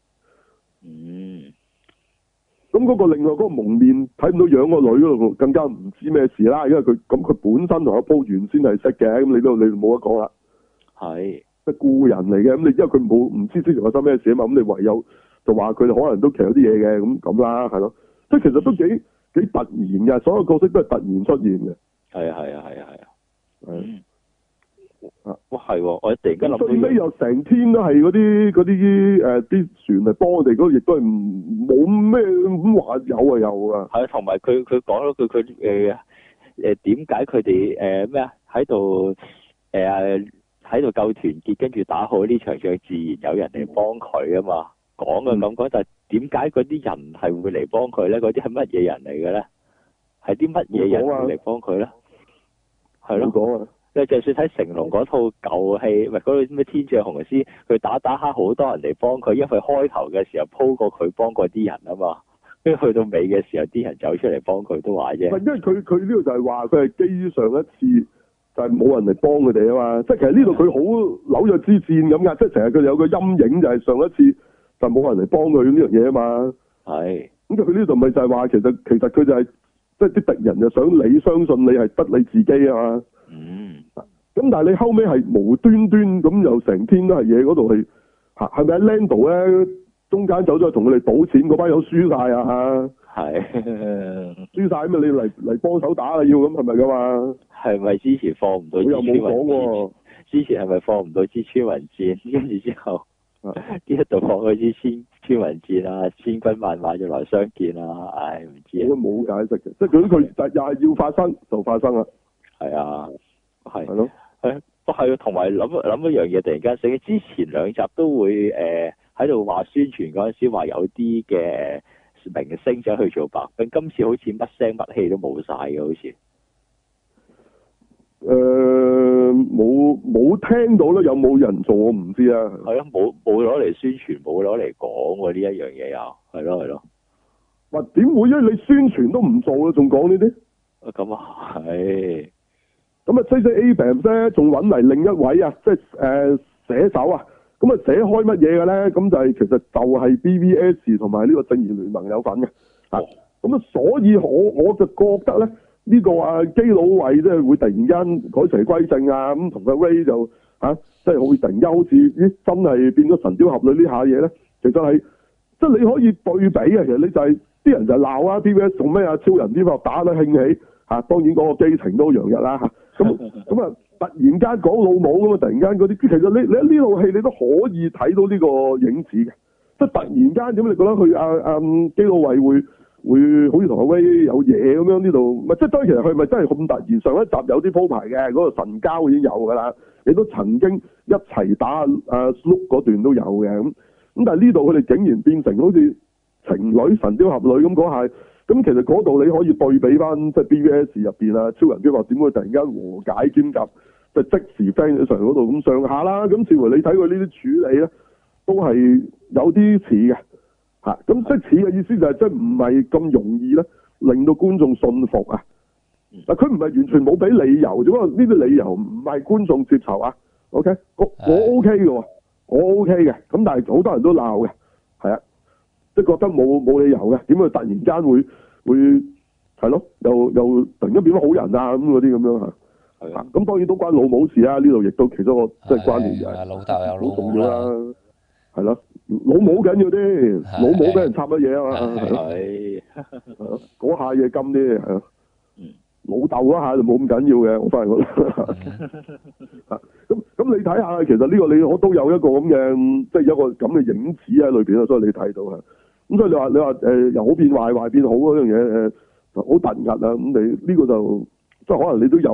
咁嗰個另外嗰個蒙面睇唔到樣個女嗰度，更加唔知咩事啦。因為佢本身同阿鋪原先係識嘅，咁你冇得講啦。係，即係故人嚟嘅，咁你因為佢唔知之前發生咩事啊嘛，咁你唯有就話佢哋可能都其實有啲嘢嘅，咁啦，係咯，即係其實都幾突然嘅，所有角色都係突然出現嘅。係哇係喎，我突然間諗到最尾又成天都係嗰啲啲船嚟幫我哋嗰，亦都係冇咩咁話有啊有啊。 係，同埋佢講咗佢點解佢哋咩啊喺度喺度夠團結，跟住打好呢場仗，自然有人嚟幫佢啊嘛。講嘅咁講，但係點解嗰啲人係會嚟幫佢咧？嗰啲係乜嘢人嚟嘅咧？係啲乜嘢人會嚟幫佢咧？係咯。講啊！你就算睇成龍嗰套舊戲，咪嗰套咩天降雄獅，佢打下好多人嚟幫佢，因為開頭嘅時候鋪過佢幫過啲人啊嘛。跟住去到尾嘅時候，啲人走出嚟幫佢都話啫。 因為佢呢度就係話佢係基於上一次。就係冇人嚟幫佢哋啊嘛，即係其實呢度佢好紐約之戰咁噶，即係成日佢哋有個陰影就係上一次就冇人嚟幫佢呢樣嘢啊嘛。係。咁佢呢度咪就係話其實佢就係即係啲敵人就想你相信你係得你自己啊嘛。咁但係你後尾係無端端咁又成天都係嘢嗰度係咪喺 Lando 咧中間走咗去同佢哋賭錢嗰班友輸晒啊？係。輸晒咁啊！你嚟幫手打啊要咁係咪噶嘛？係咪之前放唔到？我又冇講喎。之前係咪放唔到支穿雲箭？跟住之後，呢一度放嗰支穿雲箭啊，千軍萬馬要來相見啊！唉，唔知啊。我都冇解釋嘅，即係佢又係要發生就發生啦。係啊，係咯，係同埋諗一樣嘢，突然間醒起，之前兩集都會喺度話宣傳嗰陣時話有啲嘅明星想去做白兵，今次好似乜聲乜氣都冇晒嘅，好似。冇聽到咧，有冇人做我唔知啊。係啊，冇攞嚟宣傳，冇攞嚟講喎呢一樣嘢又係咯。哇，點會啊？你宣傳都唔做啊，仲講呢啲？咁啊係。咁啊，J.J. Abrams 咧，仲揾嚟另一位啊，即係寫手啊， 咁啊寫開乜嘢嘅咧？咁就係其實就係 BVS 同埋呢個正義聯盟有份嘅。咁啊，所以我就覺得咧，呢個基佬衛即係會突然間改邪歸正啊，咁同個 Ray 就即係會突然間好似真係變咗神雕俠侶呢下嘢咧，其實係即係你可以對比啊。其實你就係啲人就鬧啊 BVS 做咩啊，超人啲法打得興起當然嗰個基情都洋溢啦咁啊突然間講老母咁啊，突然間嗰啲其實你呢套戲你都可以睇到呢個影子嘅，即係突然間咁你覺得佢基佬衛會好似同阿威有嘢咁樣呢度，即係當然其實佢咪真係咁突然？上一集有啲鋪排嘅，嗰個神交已經有㗎啦，你都曾經一齊打Luke 嗰段都有嘅咁但係呢度佢哋竟然變成好似情侶神雕俠侶咁嗰下，咁其實嗰度你可以對比翻即係 BVS 入邊啊，超人機話點會突然間和解兼夾，即係即時 friend 上嗰度咁上下啦，咁似乎你睇佢呢啲處理咧，都係有啲似嘅。咁即係似嘅意思就係即係唔係咁容易咧，令到觀眾信服啊！佢唔係完全冇俾理由，只不過呢啲理由唔係觀眾接受啊。OK，我 OK 嘅喎，我 OK 嘅。咁但係好多人都鬧嘅，係啊，即係覺得冇理由嘅，點會突然間會係咯？又突然間變咗好人啊咁嗰啲咁樣嚇。係啊，咁當然都關老母事啊！呢度亦都其中一個即係關聯嘅， 老豆有老好重要啦。係咯，老母緊要啲，老母俾人插乜嘢啊嘛，係咯，嗰下嘢金啲，係咯，老豆嗰下就冇咁緊要嘅，我反而覺得，咁你睇下，其實呢個我都有一個咁嘅，即係有一個咁嘅影子喺裏邊啊，所以你睇到啊，咁所以你話由好變壞，壞變好嗰樣嘢好突兀啊，咁你呢個就即係可能你都有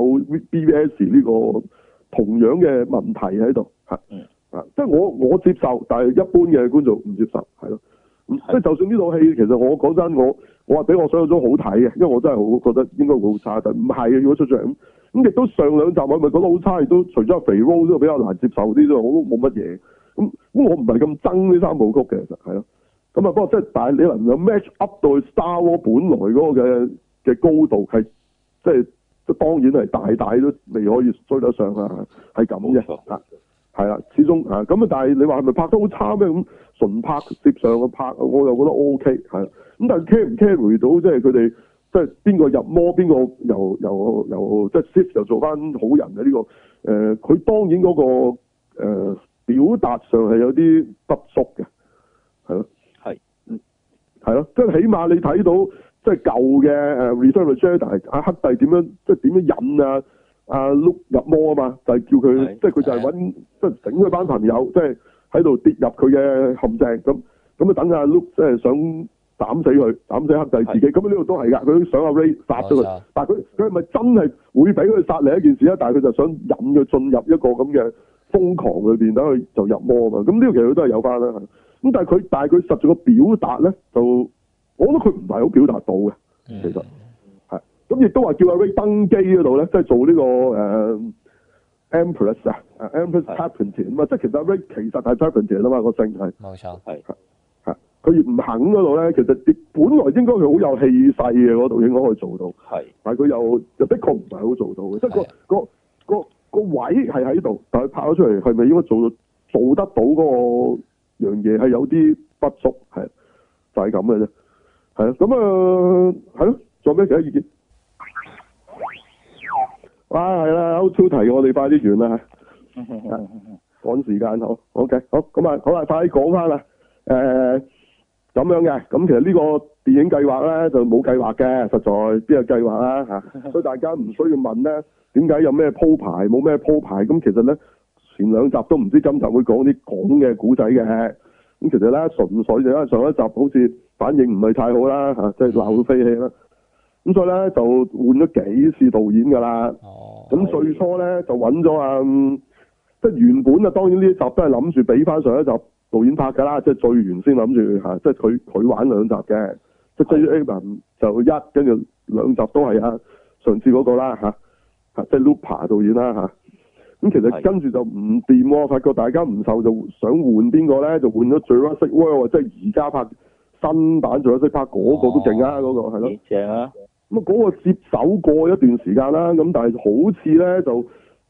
BVS 呢個同樣嘅問題喺度嚇。即係我接受，但係一般嘅觀眾唔接受，係咯。即係就算呢套戲，其實我講真，我話比我想象中好睇嘅，因為我真係好覺得應該會好差，但唔係嘅。如果出咗嚟咁亦都上兩集我咪覺得好差，亦都除咗肥 Rose 都比較難接受啲啫，我都冇乜嘢。咁我唔係咁憎呢三部曲嘅，其實係咯。咁啊，不過即係但係你能夠 match up 到 Star Wars 本來嗰個嘅高度係，即係當然係大都未可以追得上啊，係咁嘅。係啦，始終咁啊！但係你話係咪拍得好差咩？咁純拍接上嘅拍，我又覺得 O K 係啦。咁但係 carry 唔 carry 到，即係佢哋即係邊個入魔，邊個由即係 Sith 又做翻好人嘅呢個佢當然嗰個表達上係有啲不足嘅，係咯，係咯，即係起碼你睇到即係舊嘅Return of the Jedi 阿黑帝點樣即係點樣引啊！Luke 入魔啊嘛，就係叫佢，即係佢就係揾，即係整佢班朋友，即係喺度跌入佢嘅陷阱咁啊等阿 Luke 即係想斬死佢，斬死黑帝自己，咁呢度都係㗎，佢想阿 Ray 殺咗佢，但係佢係咪真係會俾佢殺另一件事啊？但係佢就想引佢進入一個咁嘅瘋狂裏邊，等佢就入魔啊嘛。咁呢個其實佢都係有翻啦。咁但係佢實在個表達咧，就我覺得佢唔係好表達到嘅，其實。咁亦都話叫阿 Ray 登基嗰度咧，即係做呢個Empress 啊，Empress Palpatine 啊嘛，即係其實阿 Ray 其實係 Palpatine 啊嘛，個姓係。冇錯，係。佢唔肯嗰度咧，其實本來應該佢好有氣勢嘅嗰度，應該可以做到。係。但係佢又的確唔係好做到嘅，即係個位係喺度，但係拍咗出嚟係咪應該做得到嗰個樣嘢係有啲不足，係就係咁嘅啫。係啊，咁係咯，仲有咩其他意見？係啦，好超題，我哋快啲完啦嚇，趕時間好 ，OK， 好，咁啊，好啦，快啲講翻啦，咁樣嘅，咁其實呢個電影計劃咧就冇計劃嘅，實在邊有計劃啦嚇，所以大家唔需要問咧，點解有咩鋪排，冇咩鋪排，咁其實咧前兩集都唔知今集會講啲講嘅古仔嘅，咁其實咧純粹就因為上一集好似反應唔係太好啦嚇，即係鬧到飛起啦。咁所以咧就換咗幾次導演㗎啦。咁最初咧就揾咗即係原本啊，當然呢一集都係諗住俾翻上一集導演拍㗎啦，即係最原先諗住嚇，即係佢玩兩集嘅，即係 J.J. Abrams 就跟住兩集都係上次嗰個啦嚇，即係 Looper 導演啦嚇。咁其實跟住就唔掂喎，發覺大家唔受，就想換邊個咧，就換咗 Jurassic World， 即係而家拍新版 Jurassic Park 嗰個都勁啊，嗰個係咯，正啊！咁嗰個接手過一段時間啦，咁但係好似咧就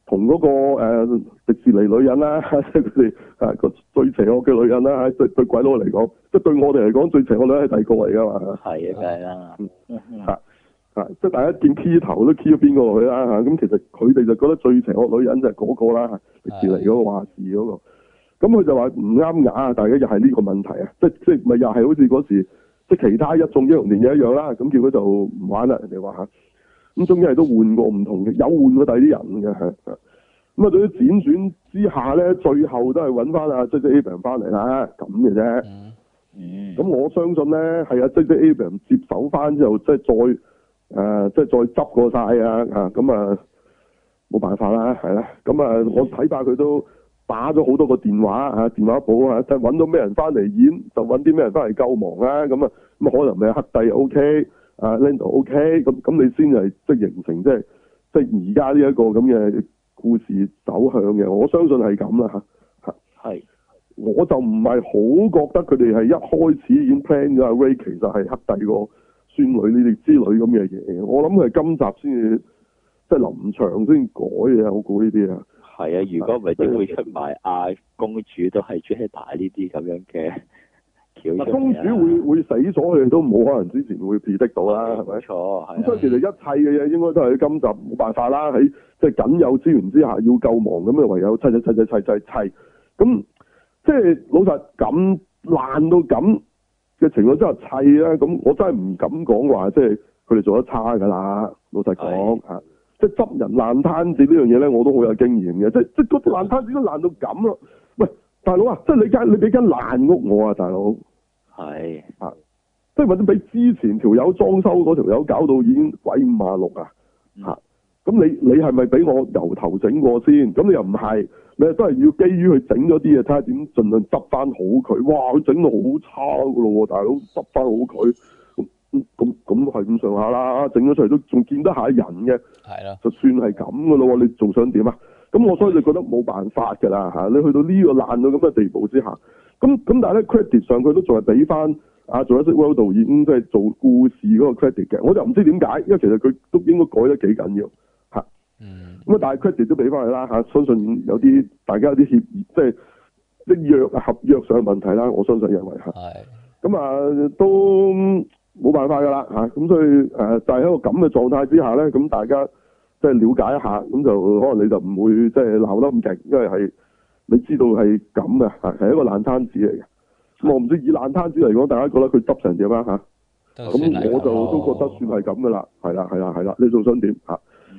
同嗰個迪士尼女人啦，即係佢哋個最邪惡嘅女人啦，對鬼佬嚟講，即係對我哋嚟講最邪惡女人係第二個嚟㗎嘛。 係啊，梗係啦。 即係大家見 key 頭都 key 咗邊個落去啦嚇，咁其實佢哋就覺得最邪惡女人就係嗰個啦，迪士尼嗰個話事嗰個。咁佢就話唔啱牙啊，大家又係呢個問題啊，即係咪又係好似嗰時即係其他一眾英雄電影一樣啦？咁結果就唔玩啦，人哋話嚇。咁終於係都換過唔同嘅，有換過第二啲人嘅係。咁啊，對於輾轉之下咧，最後都係揾翻阿 J.J. Abrams 翻嚟啦，咁嘅啫。咁我相信咧，係阿 J.J. Abrams 接手翻之後，即係再執過晒啊！咁啊，冇辦法啦，係啦。咁啊，我睇怕佢都打咗好多個電話啊，電話簿啊，即係揾到咩人翻嚟演，就揾啲咩人翻嚟救忙啦。咁啊，可能咪黑帝 O.K. Lando OK， 咁你先係即係形成即係而家呢一個咁嘅故事走向嘅，我相信係咁啦嚇。係，我就唔係好覺得佢哋係一開始已經 plan 咗阿 Ray 其實係黑帝個孫女呢啲之類咁嘅嘢，我諗佢係今集先至即係臨場先改嘅，我估呢啲啊。係啊，如果唔係點會出埋阿公主都係 Jedi 呢啲咁樣嘅？公主會死咗，佢哋都冇可能之前會 predict 到啦，係咪？冇錯，咁所以其實一切嘅嘢應該都係今集冇辦法啦，喺即係僅有資源之下要救亡，咁啊唯有砌，咁即係老實咁爛到咁嘅情況之下砌啦，咁我真係唔敢講話，即係佢哋做得差㗎啦。老實講嚇，即係執人爛攤子呢樣嘢咧，我都好有經驗嘅，即係嗰啲爛攤子都爛到咁咯。喂，大佬啊，即係你俾間爛屋我啊，大佬。係即係或者俾之前條友裝修嗰條友搞到已經鬼五馬六啊！咁你係咪俾我由頭整過先？咁你又唔係，你都係要基於佢整咗啲嘢，睇下點盡量執翻好佢。哇！佢整到好差噶咯，大佬執翻好佢，咁係咁上下啦。整咗出嚟都仲見得下人嘅，係啦，就算係咁噶咯。你仲想點啊？咁我所以就覺得冇辦法㗎啦嚇。你去到呢個爛到咁嘅地步之下。咁但係咧 credit 上佢都仲係俾翻Jurassic World 導演即係做故事嗰個 credit 嘅，我就唔知點解，因為其實佢都應該改得幾緊要嚇。咁但係 credit 都俾翻佢啦嚇，相信有啲大家有啲協議，即係合約上嘅問題啦，我相信認為嚇。咁都冇辦法㗎啦嚇，咁所以就係喺個咁嘅狀態之下咧，咁大家即係了解一下，咁就可能你就唔會即係鬧得咁勁，因為係。你知道係咁嘅，係一個爛攤子嚟嘅。咁我唔知以爛攤子嚟講，大家覺得佢執成點啊？咁我就都覺得算係咁噶啦。係啦，你仲想點嚇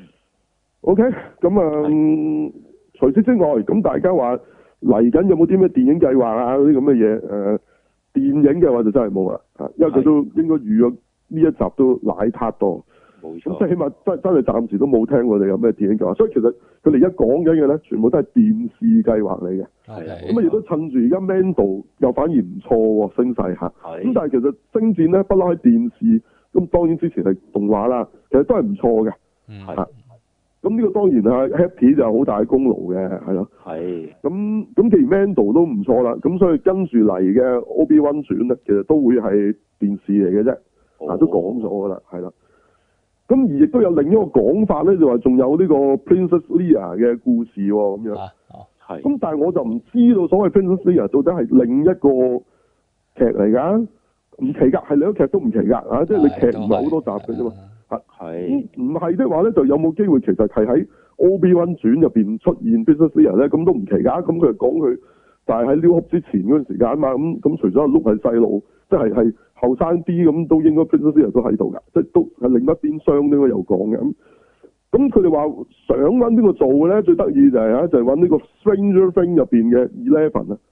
？OK，咁除此之外，咁大家話嚟緊有冇啲咩電影計劃啊？嗰啲咁嘅嘢電影嘅話就真係冇啦，因為佢都應該預咗呢一集都奶撻多。咁即係起碼真係暫時都冇聽過你有咩電影計劃，所以其實佢哋而家講緊嘅咧，全部都係電視計劃嚟嘅。咁亦都趁住而家 Mando 又反而唔錯喎，聲勢嚇。咁但係其實星戰咧不嬲喺電視，咁當然之前係動畫啦，其實都係唔錯嘅。咁呢個當然係 Happy 就有好大功勞嘅，係咯。咁既然 Mando 都唔錯啦，咁所以跟住嚟嘅 Obi-Wan 傳咧，其實都會係電視嚟嘅啫。都講咗㗎啦，係啦。咁而亦都有另一個講法咧，就話仲有呢個 Princess Leia 嘅故事喎，咁樣。咁但係我就唔知道所謂 Princess Leia 到底係另一個劇嚟㗎，唔奇㗎，係另一個劇都唔奇㗎，即係你劇唔係好多集嘅啫嘛。唔係的話咧，就有冇機會其實係喺 Obi-Wan 傳入邊出現 Princess Leia 咧？咁都唔奇㗎。咁佢就講佢，但係喺 New Hope 之前嗰陣時間啊嘛。咁除咗阿 Luke 係細路，即係後生啲咁都應該 Princess Leia 都喺度㗎，即係都係另一邊廂應該有講嘅。咁佢哋話想揾邊個做嘅咧？最得意就係就係揾呢個 Stranger Things 入邊嘅 Eleven 啊。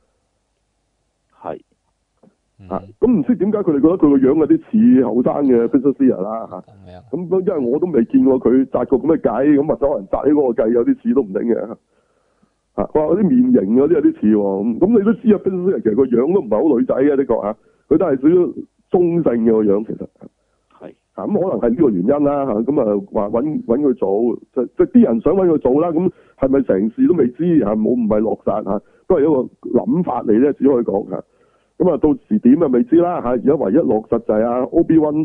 咁唔知點解佢哋覺得佢個樣有啲似後生嘅 Princess Leia 啦咁因為我都未見過佢紮過咁嘅計，咁或者可能紮起嗰個計有啲似都唔定嘅。話嗰啲面型嗰啲有啲似喎。咁你都知啊 Princess Leia 其實個樣都唔係好女仔嘅，的確佢都係屬於中性嘅個樣，其實咁可能係呢個原因啦咁啊話揾佢做，即係啲人想揾佢做啦。咁係咪成事都未知唔係落實都係一個諗法嚟啫，只可以講咁啊到時點啊未知啦而家唯一落實就係Obi-Wan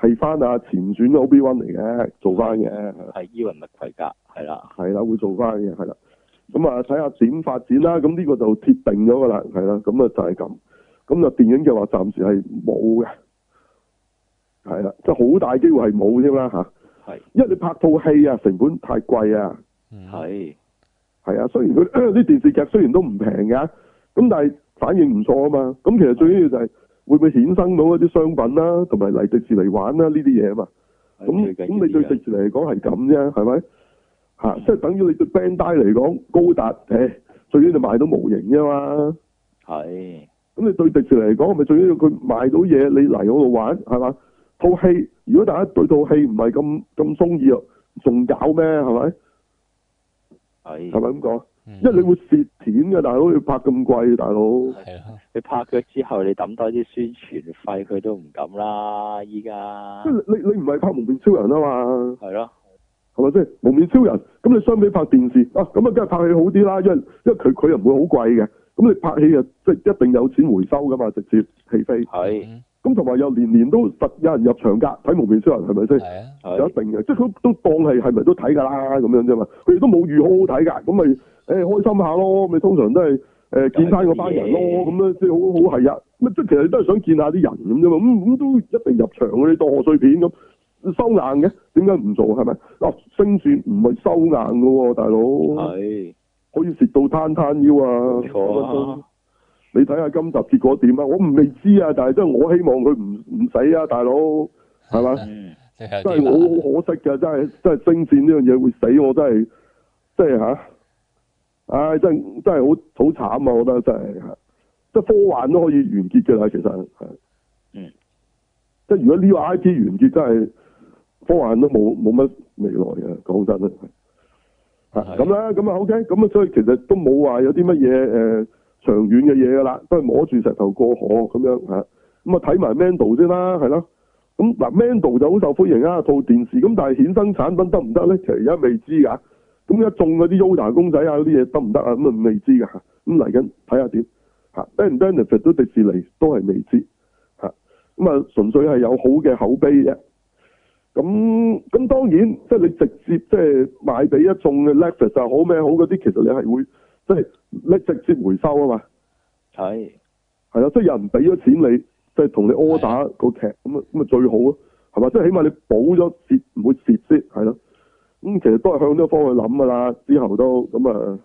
係翻阿前傳嘅 Obi-Wan 嚟嘅，做翻嘅。 係伊雲麥奎格，係啦。 係啦，會做翻嘅，係啦。咁啊，睇下點發展啦。咁呢個就鐵定咗噶啦，係啦。咁啊就係咁。咁就電影嘅話，暫時係冇嘅。係啦，即係好大機會係冇添啦嚇。係。因為你拍套戲啊，成本太貴啊。 係。係啊，雖然佢啲電視劇雖然都唔平嘅，咁但係反應唔錯啊嘛。咁其實最緊要就係會唔會衍生到一啲商品啦，同埋嚟迪士尼玩啦呢啲嘢啊嘛。咁你對迪士尼嚟講係咁啫，係咪？即係等於你對 Bandai 嚟講，高達最緊要就賣到模型啫嘛。係。咁你對迪士尼嚟講，咪最緊要佢賣到嘢，你嚟嗰度玩係嘛？套戲如果大家對套戲唔係咁中意啊，仲搞咩係咪？係咪咁講？因為你會蝕錢嘅，大佬要拍咁貴，大佬。係啊。 你拍咗之後，你抌多啲宣傳費，佢都唔敢啦。依家。 即係你唔係拍蒙面超人啊嘛？ 係咯。 係咪先？蒙面超人咁你相比拍電視啊，咁啊梗係拍戲好啲啦，因為佢又唔會好貴嘅，咁你拍戲啊即係一定有錢回收噶嘛，直接起飛。係。咁同埋又年年都實有人入場㗎，睇蒙面超人係咪先？係啊。有一定嘅，即係佢都當係咪都睇㗎啦咁樣啫嘛，佢哋都冇預好好睇㗎，咁咪開心下咯，咪通常都係見翻嗰班人咯，咁樣即係好係啊，咁即係其實都係想見下啲人咁啫嘛，咁都一定入場嗰啲當賀歲片咁。收硬嘅，點解唔做係咪？星戰唔係收硬嘅喎，大佬。係。可以蝕到攤腰啊！冇錯。你睇下今集結果點啊？我未知啊，但係真係我希望佢唔死啊，大佬，係咪？真係好可惜㗎，真係星戰呢樣嘢會死，我真係，即係嚇，唉，真係好慘啊！我覺得真係，即係科幻都可以完結嘅啦，其實係。即係如果呢個 IP 完結，真係。科幻都冇乜未來嘅，講真啦，咁啦，咁啊 OK，咁啊所以其實都冇話有啲乜嘢長遠嘅嘢噶啦，都係摸住石頭過河咁樣嚇，咁啊睇埋 Mando 先啦，係咯，咁嗱 Mando 就好受歡迎啊，套電視，咁但係衍生產品得唔得咧？其實而家未知㗎，咁一中嗰啲 Yoda 公仔啊嗰啲嘢得唔得啊？咁啊未知㗎，咁嚟緊睇下點嚇，benefit 都迪士尼都係未知嚇，咁啊純粹係有好嘅口碑啫。咁當然，即係你直接即係賣俾一眾嘅 Netflix 就好咩好嗰啲，其實你係會即係你直接回收啊嘛。係啊，即係有人俾咗錢你，即係同你 order 個劇，咁啊最好咯，係嘛？即係起碼你補咗蝕，唔會蝕先，係咯。咁其實都係向呢個方向諗噶啦，之後都咁啊，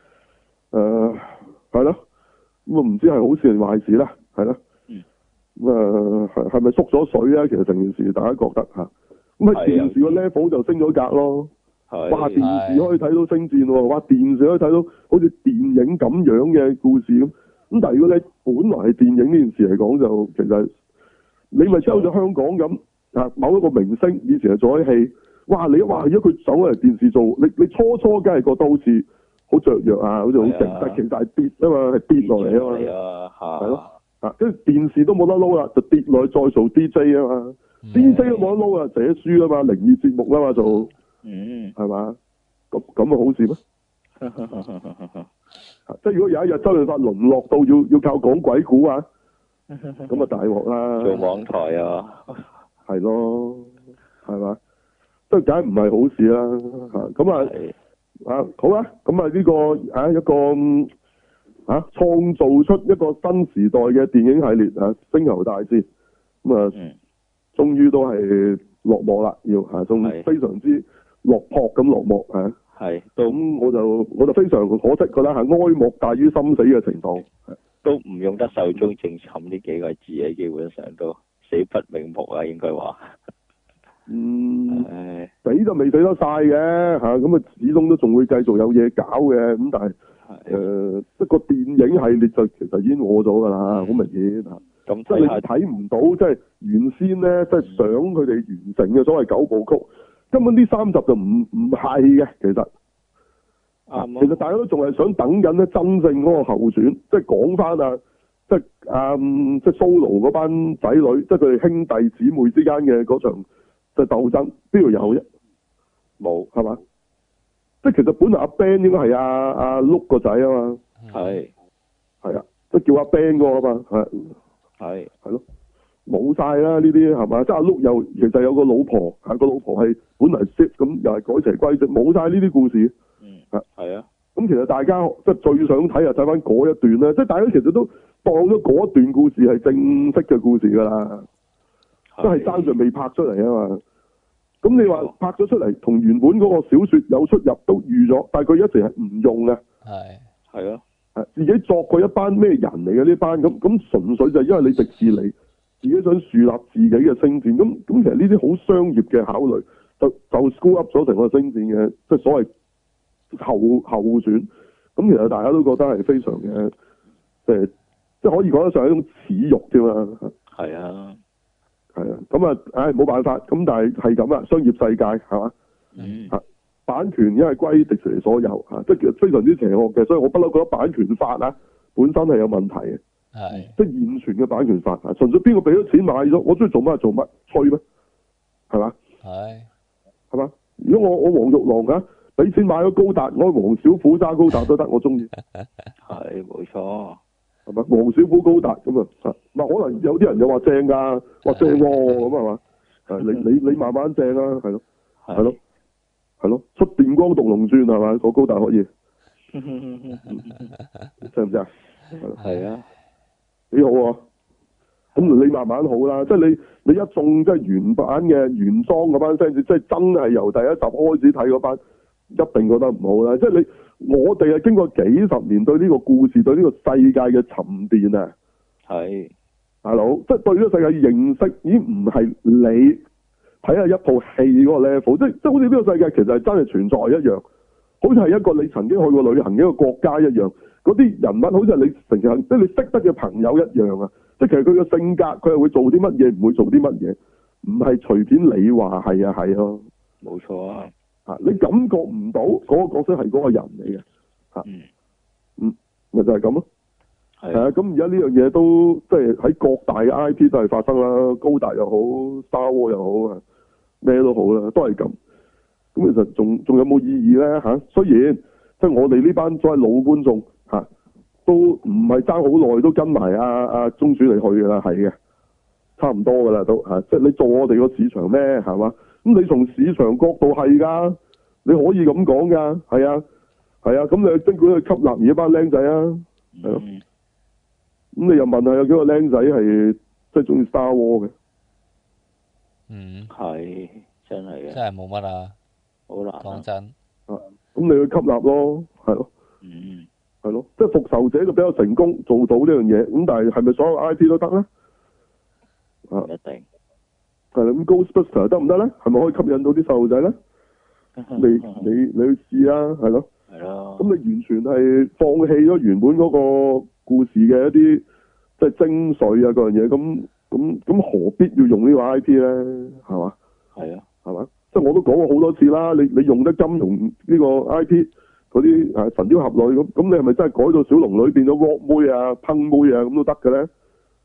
係咯。咁啊唔知係好事定壞事啦，係咯。咁啊係咪縮咗水啊？其實成件事大家覺得嚇。咁喺電視個 level 就升咗格咯，哇！電視可以睇到星戰喎，哇！電視可以睇到好似電影咁樣嘅故事咁。咁但係如果你本來係電影呢件事嚟講，就其實你咪即係好似香港咁啊，某一個明星以前係做咗戲，哇！如果佢走嚟電視做，你初梗係覺得好似好雀躍啊，好似好勁，但其實係跌啊嘛，係跌落嚟啊嘛，係咯，跟住電視都冇得撈啦，就跌落去再做 DJ 啊嘛。DJ 都冇得撈啊，寫書啊嘛，靈異節目啊嘛做，係嘛？咁啊好事咩？即係如果有一日周潤發淪落到要靠講鬼故啊，咁啊大鑊啦！ 做網台啊， 係咯，係嘛？都梗係唔係好事啦，咁啊好啊，咁啊呢個一個創造出一個新時代嘅電影系列星球大戰咁啊。終於都係落幕啦，仲非常之落魄咁落幕係，咁我就非常可惜覺得係哀莫大於心死嘅情況， 都唔用得壽終正寢呢幾個字嘅，基本上都死不瞑目啊，應該話。死就未死得晒嘅咁啊始終都仲會繼續有嘢搞嘅，咁但係即個電影系列就其實已經餓咗㗎啦，好明顯咁即係你睇唔到，即係原先咧，即係想佢哋完成嘅所謂9部曲，根本呢3集就唔係嘅，其實。其實大家都仲係想等緊咧真正嗰個後傳，即係講翻即係 Solo 嗰班仔女，即係佢哋兄弟姊妹之間嘅嗰場即係鬥爭，邊度有啫？冇係嘛？即係其實本來阿 Ben 應該係阿 Luke 個仔啊嘛。係啊，即係叫阿 Ben 嗰個啊嘛，係咯，咁冇晒啦，呢啲係嘛？即係阿 Luke 又其實有個老婆，個老婆係本嚟 Sith 咁，又係改邪歸正，冇晒呢啲故事。 係啊。 咁其實大家即係最想睇就睇翻嗰一段咧，即係大家其實都當咗嗰一段故事係正式嘅故事㗎啦，都係爭住未拍出嚟啊嘛。咁你話拍咗出嚟，同原本嗰個小説有出入都預咗，但係佢一直係唔用嘅。 係啊。 自己作過一班咩人嚟嘅呢班咁純粹就係因為你迪士尼自己想樹立自己嘅星戰，咁其實呢啲好商業嘅考慮，就 screw up 咗成個星戰嘅即係所謂後選，咁其實大家都覺得係非常嘅，即係可以講得上係一種恥辱啫嘛。 係啊， 咁啊，冇辦法，咁但係咁啦，商業世界係嘛，版權因為歸迪士尼所有即係其實非常之邪惡嘅，所以我不嬲覺得版權法本身係有問題嘅，即係現存嘅版權法純粹邊個俾咗錢買咗，我中意做乜就做乜，吹咩？係嘛？係嘛？如果我黃玉郎俾錢買咗高達，我黃小虎揸高達都得，我中意。 係冇錯， 係咪？黃小虎高達咁啊？可能有啲人又話正㗎，話正喎咁係嘛？你慢慢正啦，係咯，係咯，出電光獨龍鑽係嘛？個高達可以，正唔正啊？ 係啊， 幾好啊！咁你慢慢好啦，即係你一眾即係原版嘅原裝嗰班 fans，即係真係由第一集開始睇嗰班，一定覺得唔好啦。即係我哋係經過幾十年對呢個故事、對呢個世界嘅沉澱啊。係，大佬，即係對呢個世界認識已經唔係你睇下一套戲嗰個 level，即係好似呢個世界其實係真係存在一樣，好似係一個你曾經去過旅行嘅一個國家一樣，嗰啲人物好似係你成日即係你識得嘅朋友一樣啊！即係其實佢嘅性格，佢係會做啲乜嘢，唔會做啲乜嘢，唔係隨便你話係啊係咯， 冇錯啊！ 你感覺唔到嗰個角色係嗰個人嚟嘅，咪就係咁咯。係啊，咁而家呢樣嘢都即係喺各大嘅 IP 都係發生啦，高達又好，Star Wars 又好，咩都好啦，都係咁。咁其實仲有冇意義咧？雖然即係我哋呢班所謂老觀眾都唔係爭好耐，都跟埋阿中主嚟去㗎啦，係嘅，差唔多㗎啦都即係你做我哋個市場咩係嘛？咁你從市場角度係㗎，你可以咁講㗎，係啊，咁你儘管去吸納而一班僆仔啊，係咯，咁你又問下有幾個僆仔係即係中意 Star Wars 嘅？ 係真係嘅， 真係冇乜啊， 好難講真。 咁你去吸納咯，係咯。係咯，即係復仇者就比較成功做到呢樣嘢，咁但係咪所有 IP 都得咧？ 一定。 係啦，咁 Ghostbuster 得唔得咧？係咪可以吸引到啲細路仔咧？你去試啊，係咯。係咯。咁你完全係放棄咗原本嗰個故事嘅一啲即係精髓啊嗰樣嘢，咁何必要用呢個 IP 咧？係嘛？係啊。係嘛？即係我都講過好多次啦，你用得金庸呢個 IP。嗰啲神雕俠侶咁你係咪真係改到小龍女變咗 rock 妹啊、烹妹啊咁都得嘅咧？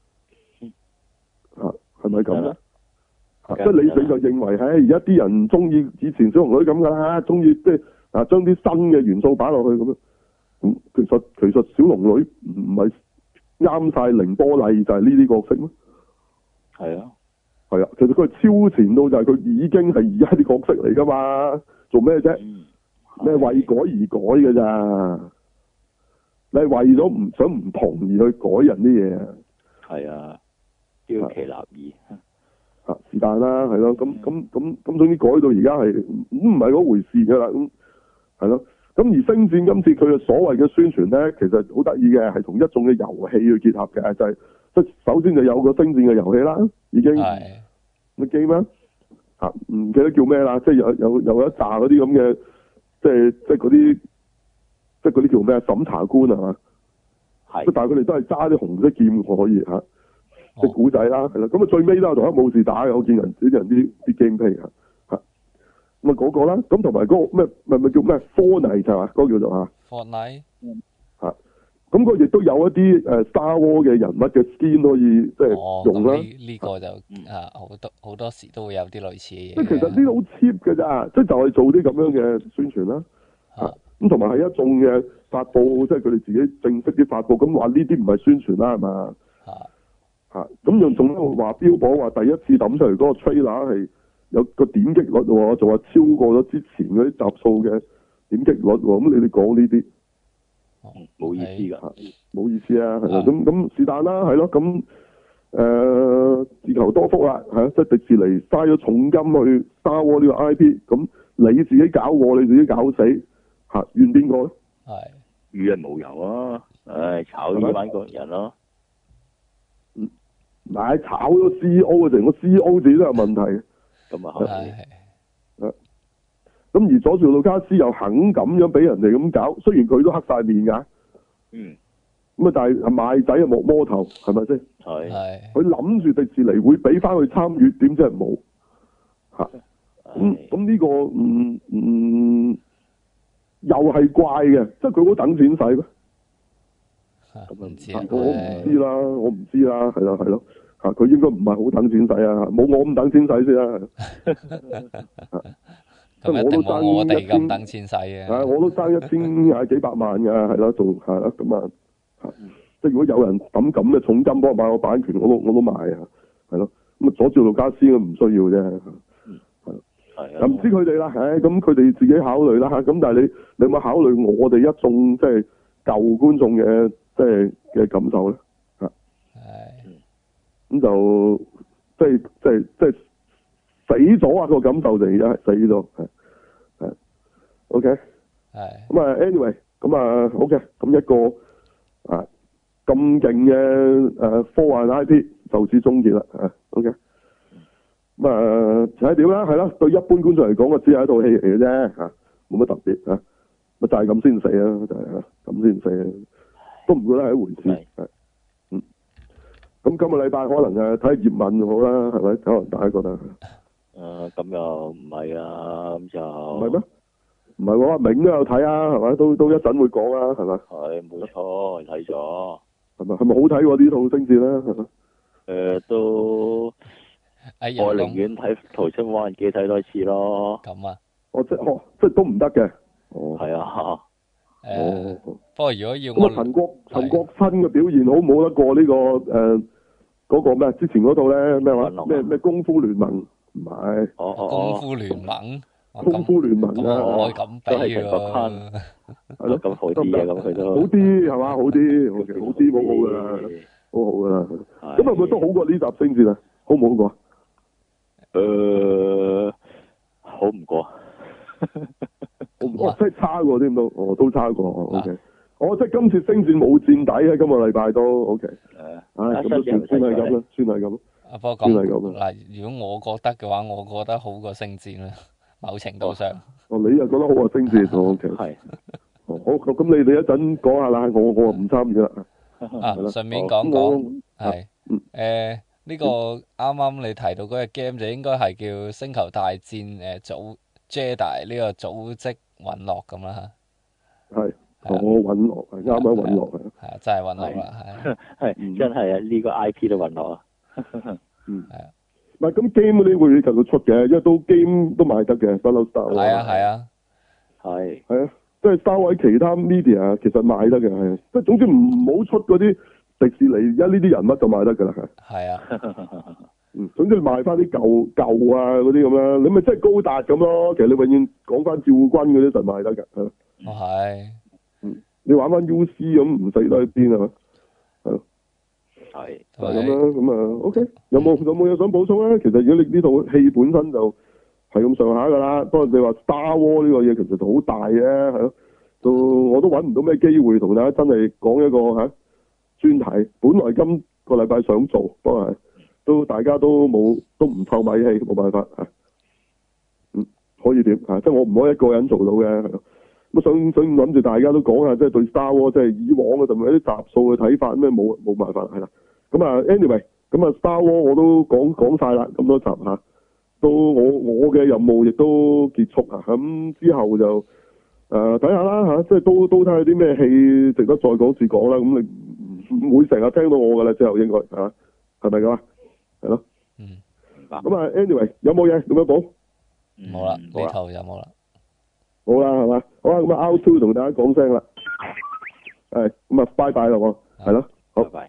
係咪咁咧？即係你就認為，而家啲人中意以前小龍女咁噶啦，中意即係將啲新嘅元素擺落去咁樣。咁其實小龍女唔係啱晒凌波麗就係呢啲角色咩？係啊，其實佢係超前到就係佢已經係而家啲角色嚟噶嘛，做咩啫？你係為改而改嘅咋？你係為咗唔想唔同而去改人啲嘢啊？係啊，標奇立異是但啦，係咯，咁總之改到而家係唔係嗰回事噶啦，咁係咯。咁而星戰今次佢嘅所謂嘅宣傳咧，其實好得意嘅，係同一種嘅遊戲去結合嘅，就係即係首先就有個星戰嘅遊戲啦，已經你記咩？唔記得叫咩啦，即係有一紮嗰啲咁嘅。即係嗰啲，即係嗰啲叫咩審查官啊嘛，係，但係佢哋都係揸啲紅色劍可以即係古仔啦，係啦，咁最尾都係同一武士打嘅，我見人啲 gameplay 咁嗰個啦，咁同埋嗰個咩咪叫咩 Fortnite 係嘛，嗰個叫做 Fortnite 咁佢亦都有一啲Star Wars 嘅人物嘅 skin 可以即係用啦。 呢個就好多時都會有啲類似嘅嘢。 即係其實呢個好 cheap 嘅咋，即係就係做啲咁樣嘅宣傳啦。咁同埋係一眾嘅發佈，即係佢哋自己正式啲發佈，咁話呢啲唔係宣傳啦，係嘛？ 咁仲喺度話標榜話第一次抌出嚟嗰個 trailer 係有個點擊率喎，仲話超過咗之前嗰啲集數嘅點擊率喎，咁你哋講呢啲冇意思㗎， 冇意思啊，係啦，咁是但啦，係咯，咁自求多福啦，即係迪士尼嘥咗重金去 Star Wars 呢個 IP， 咁你自己搞我，你自己搞死，怨邊個咧？ 係與人無尤啊！唉，炒呢班個人咯。 唔係炒咗 CEO 嘅，成個 CEO 自己都有問題。 咁啊係。 咁而佐治魯卡斯又肯咁樣俾人哋咁搞，雖然佢都黑晒面㗎。咁但係賣仔啊莫摸頭，係咪先？ 係。 佢諗住迪士尼會俾翻佢參與，點知係冇。咁呢個又係怪嘅，即係佢好等錢使咩？ 咁唔知我唔知啦，係咯，佢應該唔係好等錢使啊，冇我咁等錢使先啦。 咁一定冇我哋咁等錢使嘅。 我都爭1000幾百萬㗎，係咯，仲係啦，咁啊，即係如果有人抌咁嘅重金幫我買個版權，我都買啊，係咯，咁啊佐治盧卡斯唔需要啫。係唔知佢哋啦，咁佢哋自己考慮啦，咁但係你有冇考慮我哋一眾即係舊觀眾嘅即係嘅感受咧？咁就即係死咗啊！個感受就而家係死咗，係 OK。咁啊，anyway，咁啊好嘅，咁一個咁勁嘅科幻 IP 就此終結啦，OK。咁睇點啦，係啦，對一般觀眾嚟講，只係一套戲嚟嘅啫，冇乜特別嚇，咪就係咁先死啊，就係咁先死啊，都唔覺得係一回事，咁今個禮拜可能睇葉問好啦，係咪？可能大家覺得咁又唔係啊，咁就唔係咩？唔係喎，阿銘都有睇啊，係咪？都一陣會講啊，係咪？ 係冇錯，睇咗， 係咪好睇喎？呢套星戰啦，係咪？ 都。我寧願睇《逃出無人機》睇多次咯。 咁啊？ 即係都唔得嘅。 係啊。 不過如果要我陳國新嘅表現好冇得過呢個嗰個咩？之前嗰套咧咩話？咩功夫聯盟唔係？ 功夫聯盟。 功夫聯盟啊！ 我咁比喎。 係咯，咁好啲嘅咁佢都。 好啲係嘛？好啲，好啲，好好噶啦，好好噶啦。咁係咪都好過呢集星戰啊？好唔好過？ 好唔過， 即係差過添都，都差過 ，OK。即係今次星戰冇墊底喺今個禮拜都 OK。咁都算係咁啦，算係咁。 不過咁嗱，如果我覺得嘅話，我覺得好過星戰啦，某程度上。 你又覺得好過星戰，OK。係。好，咁你哋一陣講下啦，我唔參與啦。 順便講係，呢個啱啱你提到嗰個 game 就應該係叫《星球大戰》Jedi 呢個組織隕落咁啦嚇。係， 隕落係啱啱隕落係。 真係隕落啦， 係真係啊！呢個 IP 都隕落啊。 唔係咁 game 嗰啲會繼續出嘅，因為都 game 都賣得嘅，不嬲 Star。 係啊。 即係 Star 喺其他 media 其實賣得嘅，係即係總之唔好出嗰啲。迪士尼而家呢啲人物就賣得㗎啦， 係啊， 總之賣翻啲舊啊嗰啲咁啦，你咪即係高達咁咯。其實你永遠講翻趙軍嗰啲就賣得㗎， 係。 你玩翻 UC 咁唔死得喺邊啊？係咯， 係就係咁啦。咁啊 OK，有冇嘢想補充咧？其實如果你呢套戲本身就係咁上下㗎啦，不過你話 Star Wars 呢個嘢其實就好大嘅，係咯，我都揾唔到咩機會同大家真係講一個專題，本來今個禮拜想做，不過都大家都唔湊米氣，冇辦法可以點即係我唔可以一個人做到嘅，係咯。咁想諗住大家都講下，即係對 Star Wars 即係以往嘅同埋啲集數嘅睇法，咩冇辦法係啦。咁anyway，咁Star Wars 我都講晒啦，咁多集到我嘅任務亦都結束咁之後就睇下啦即係都睇下啲咩戲值得再講次講啦。咁你唔會成日聽到我噶啦，之後應該係咪咁啊？係咯。咁anyway 有冇嘢咁樣補？ 冇啦，呢頭就冇啦。 好啦，係嘛？好啦，咁Out2同大家講聲啦。係咁拜拜啦，係咯，好。拜拜。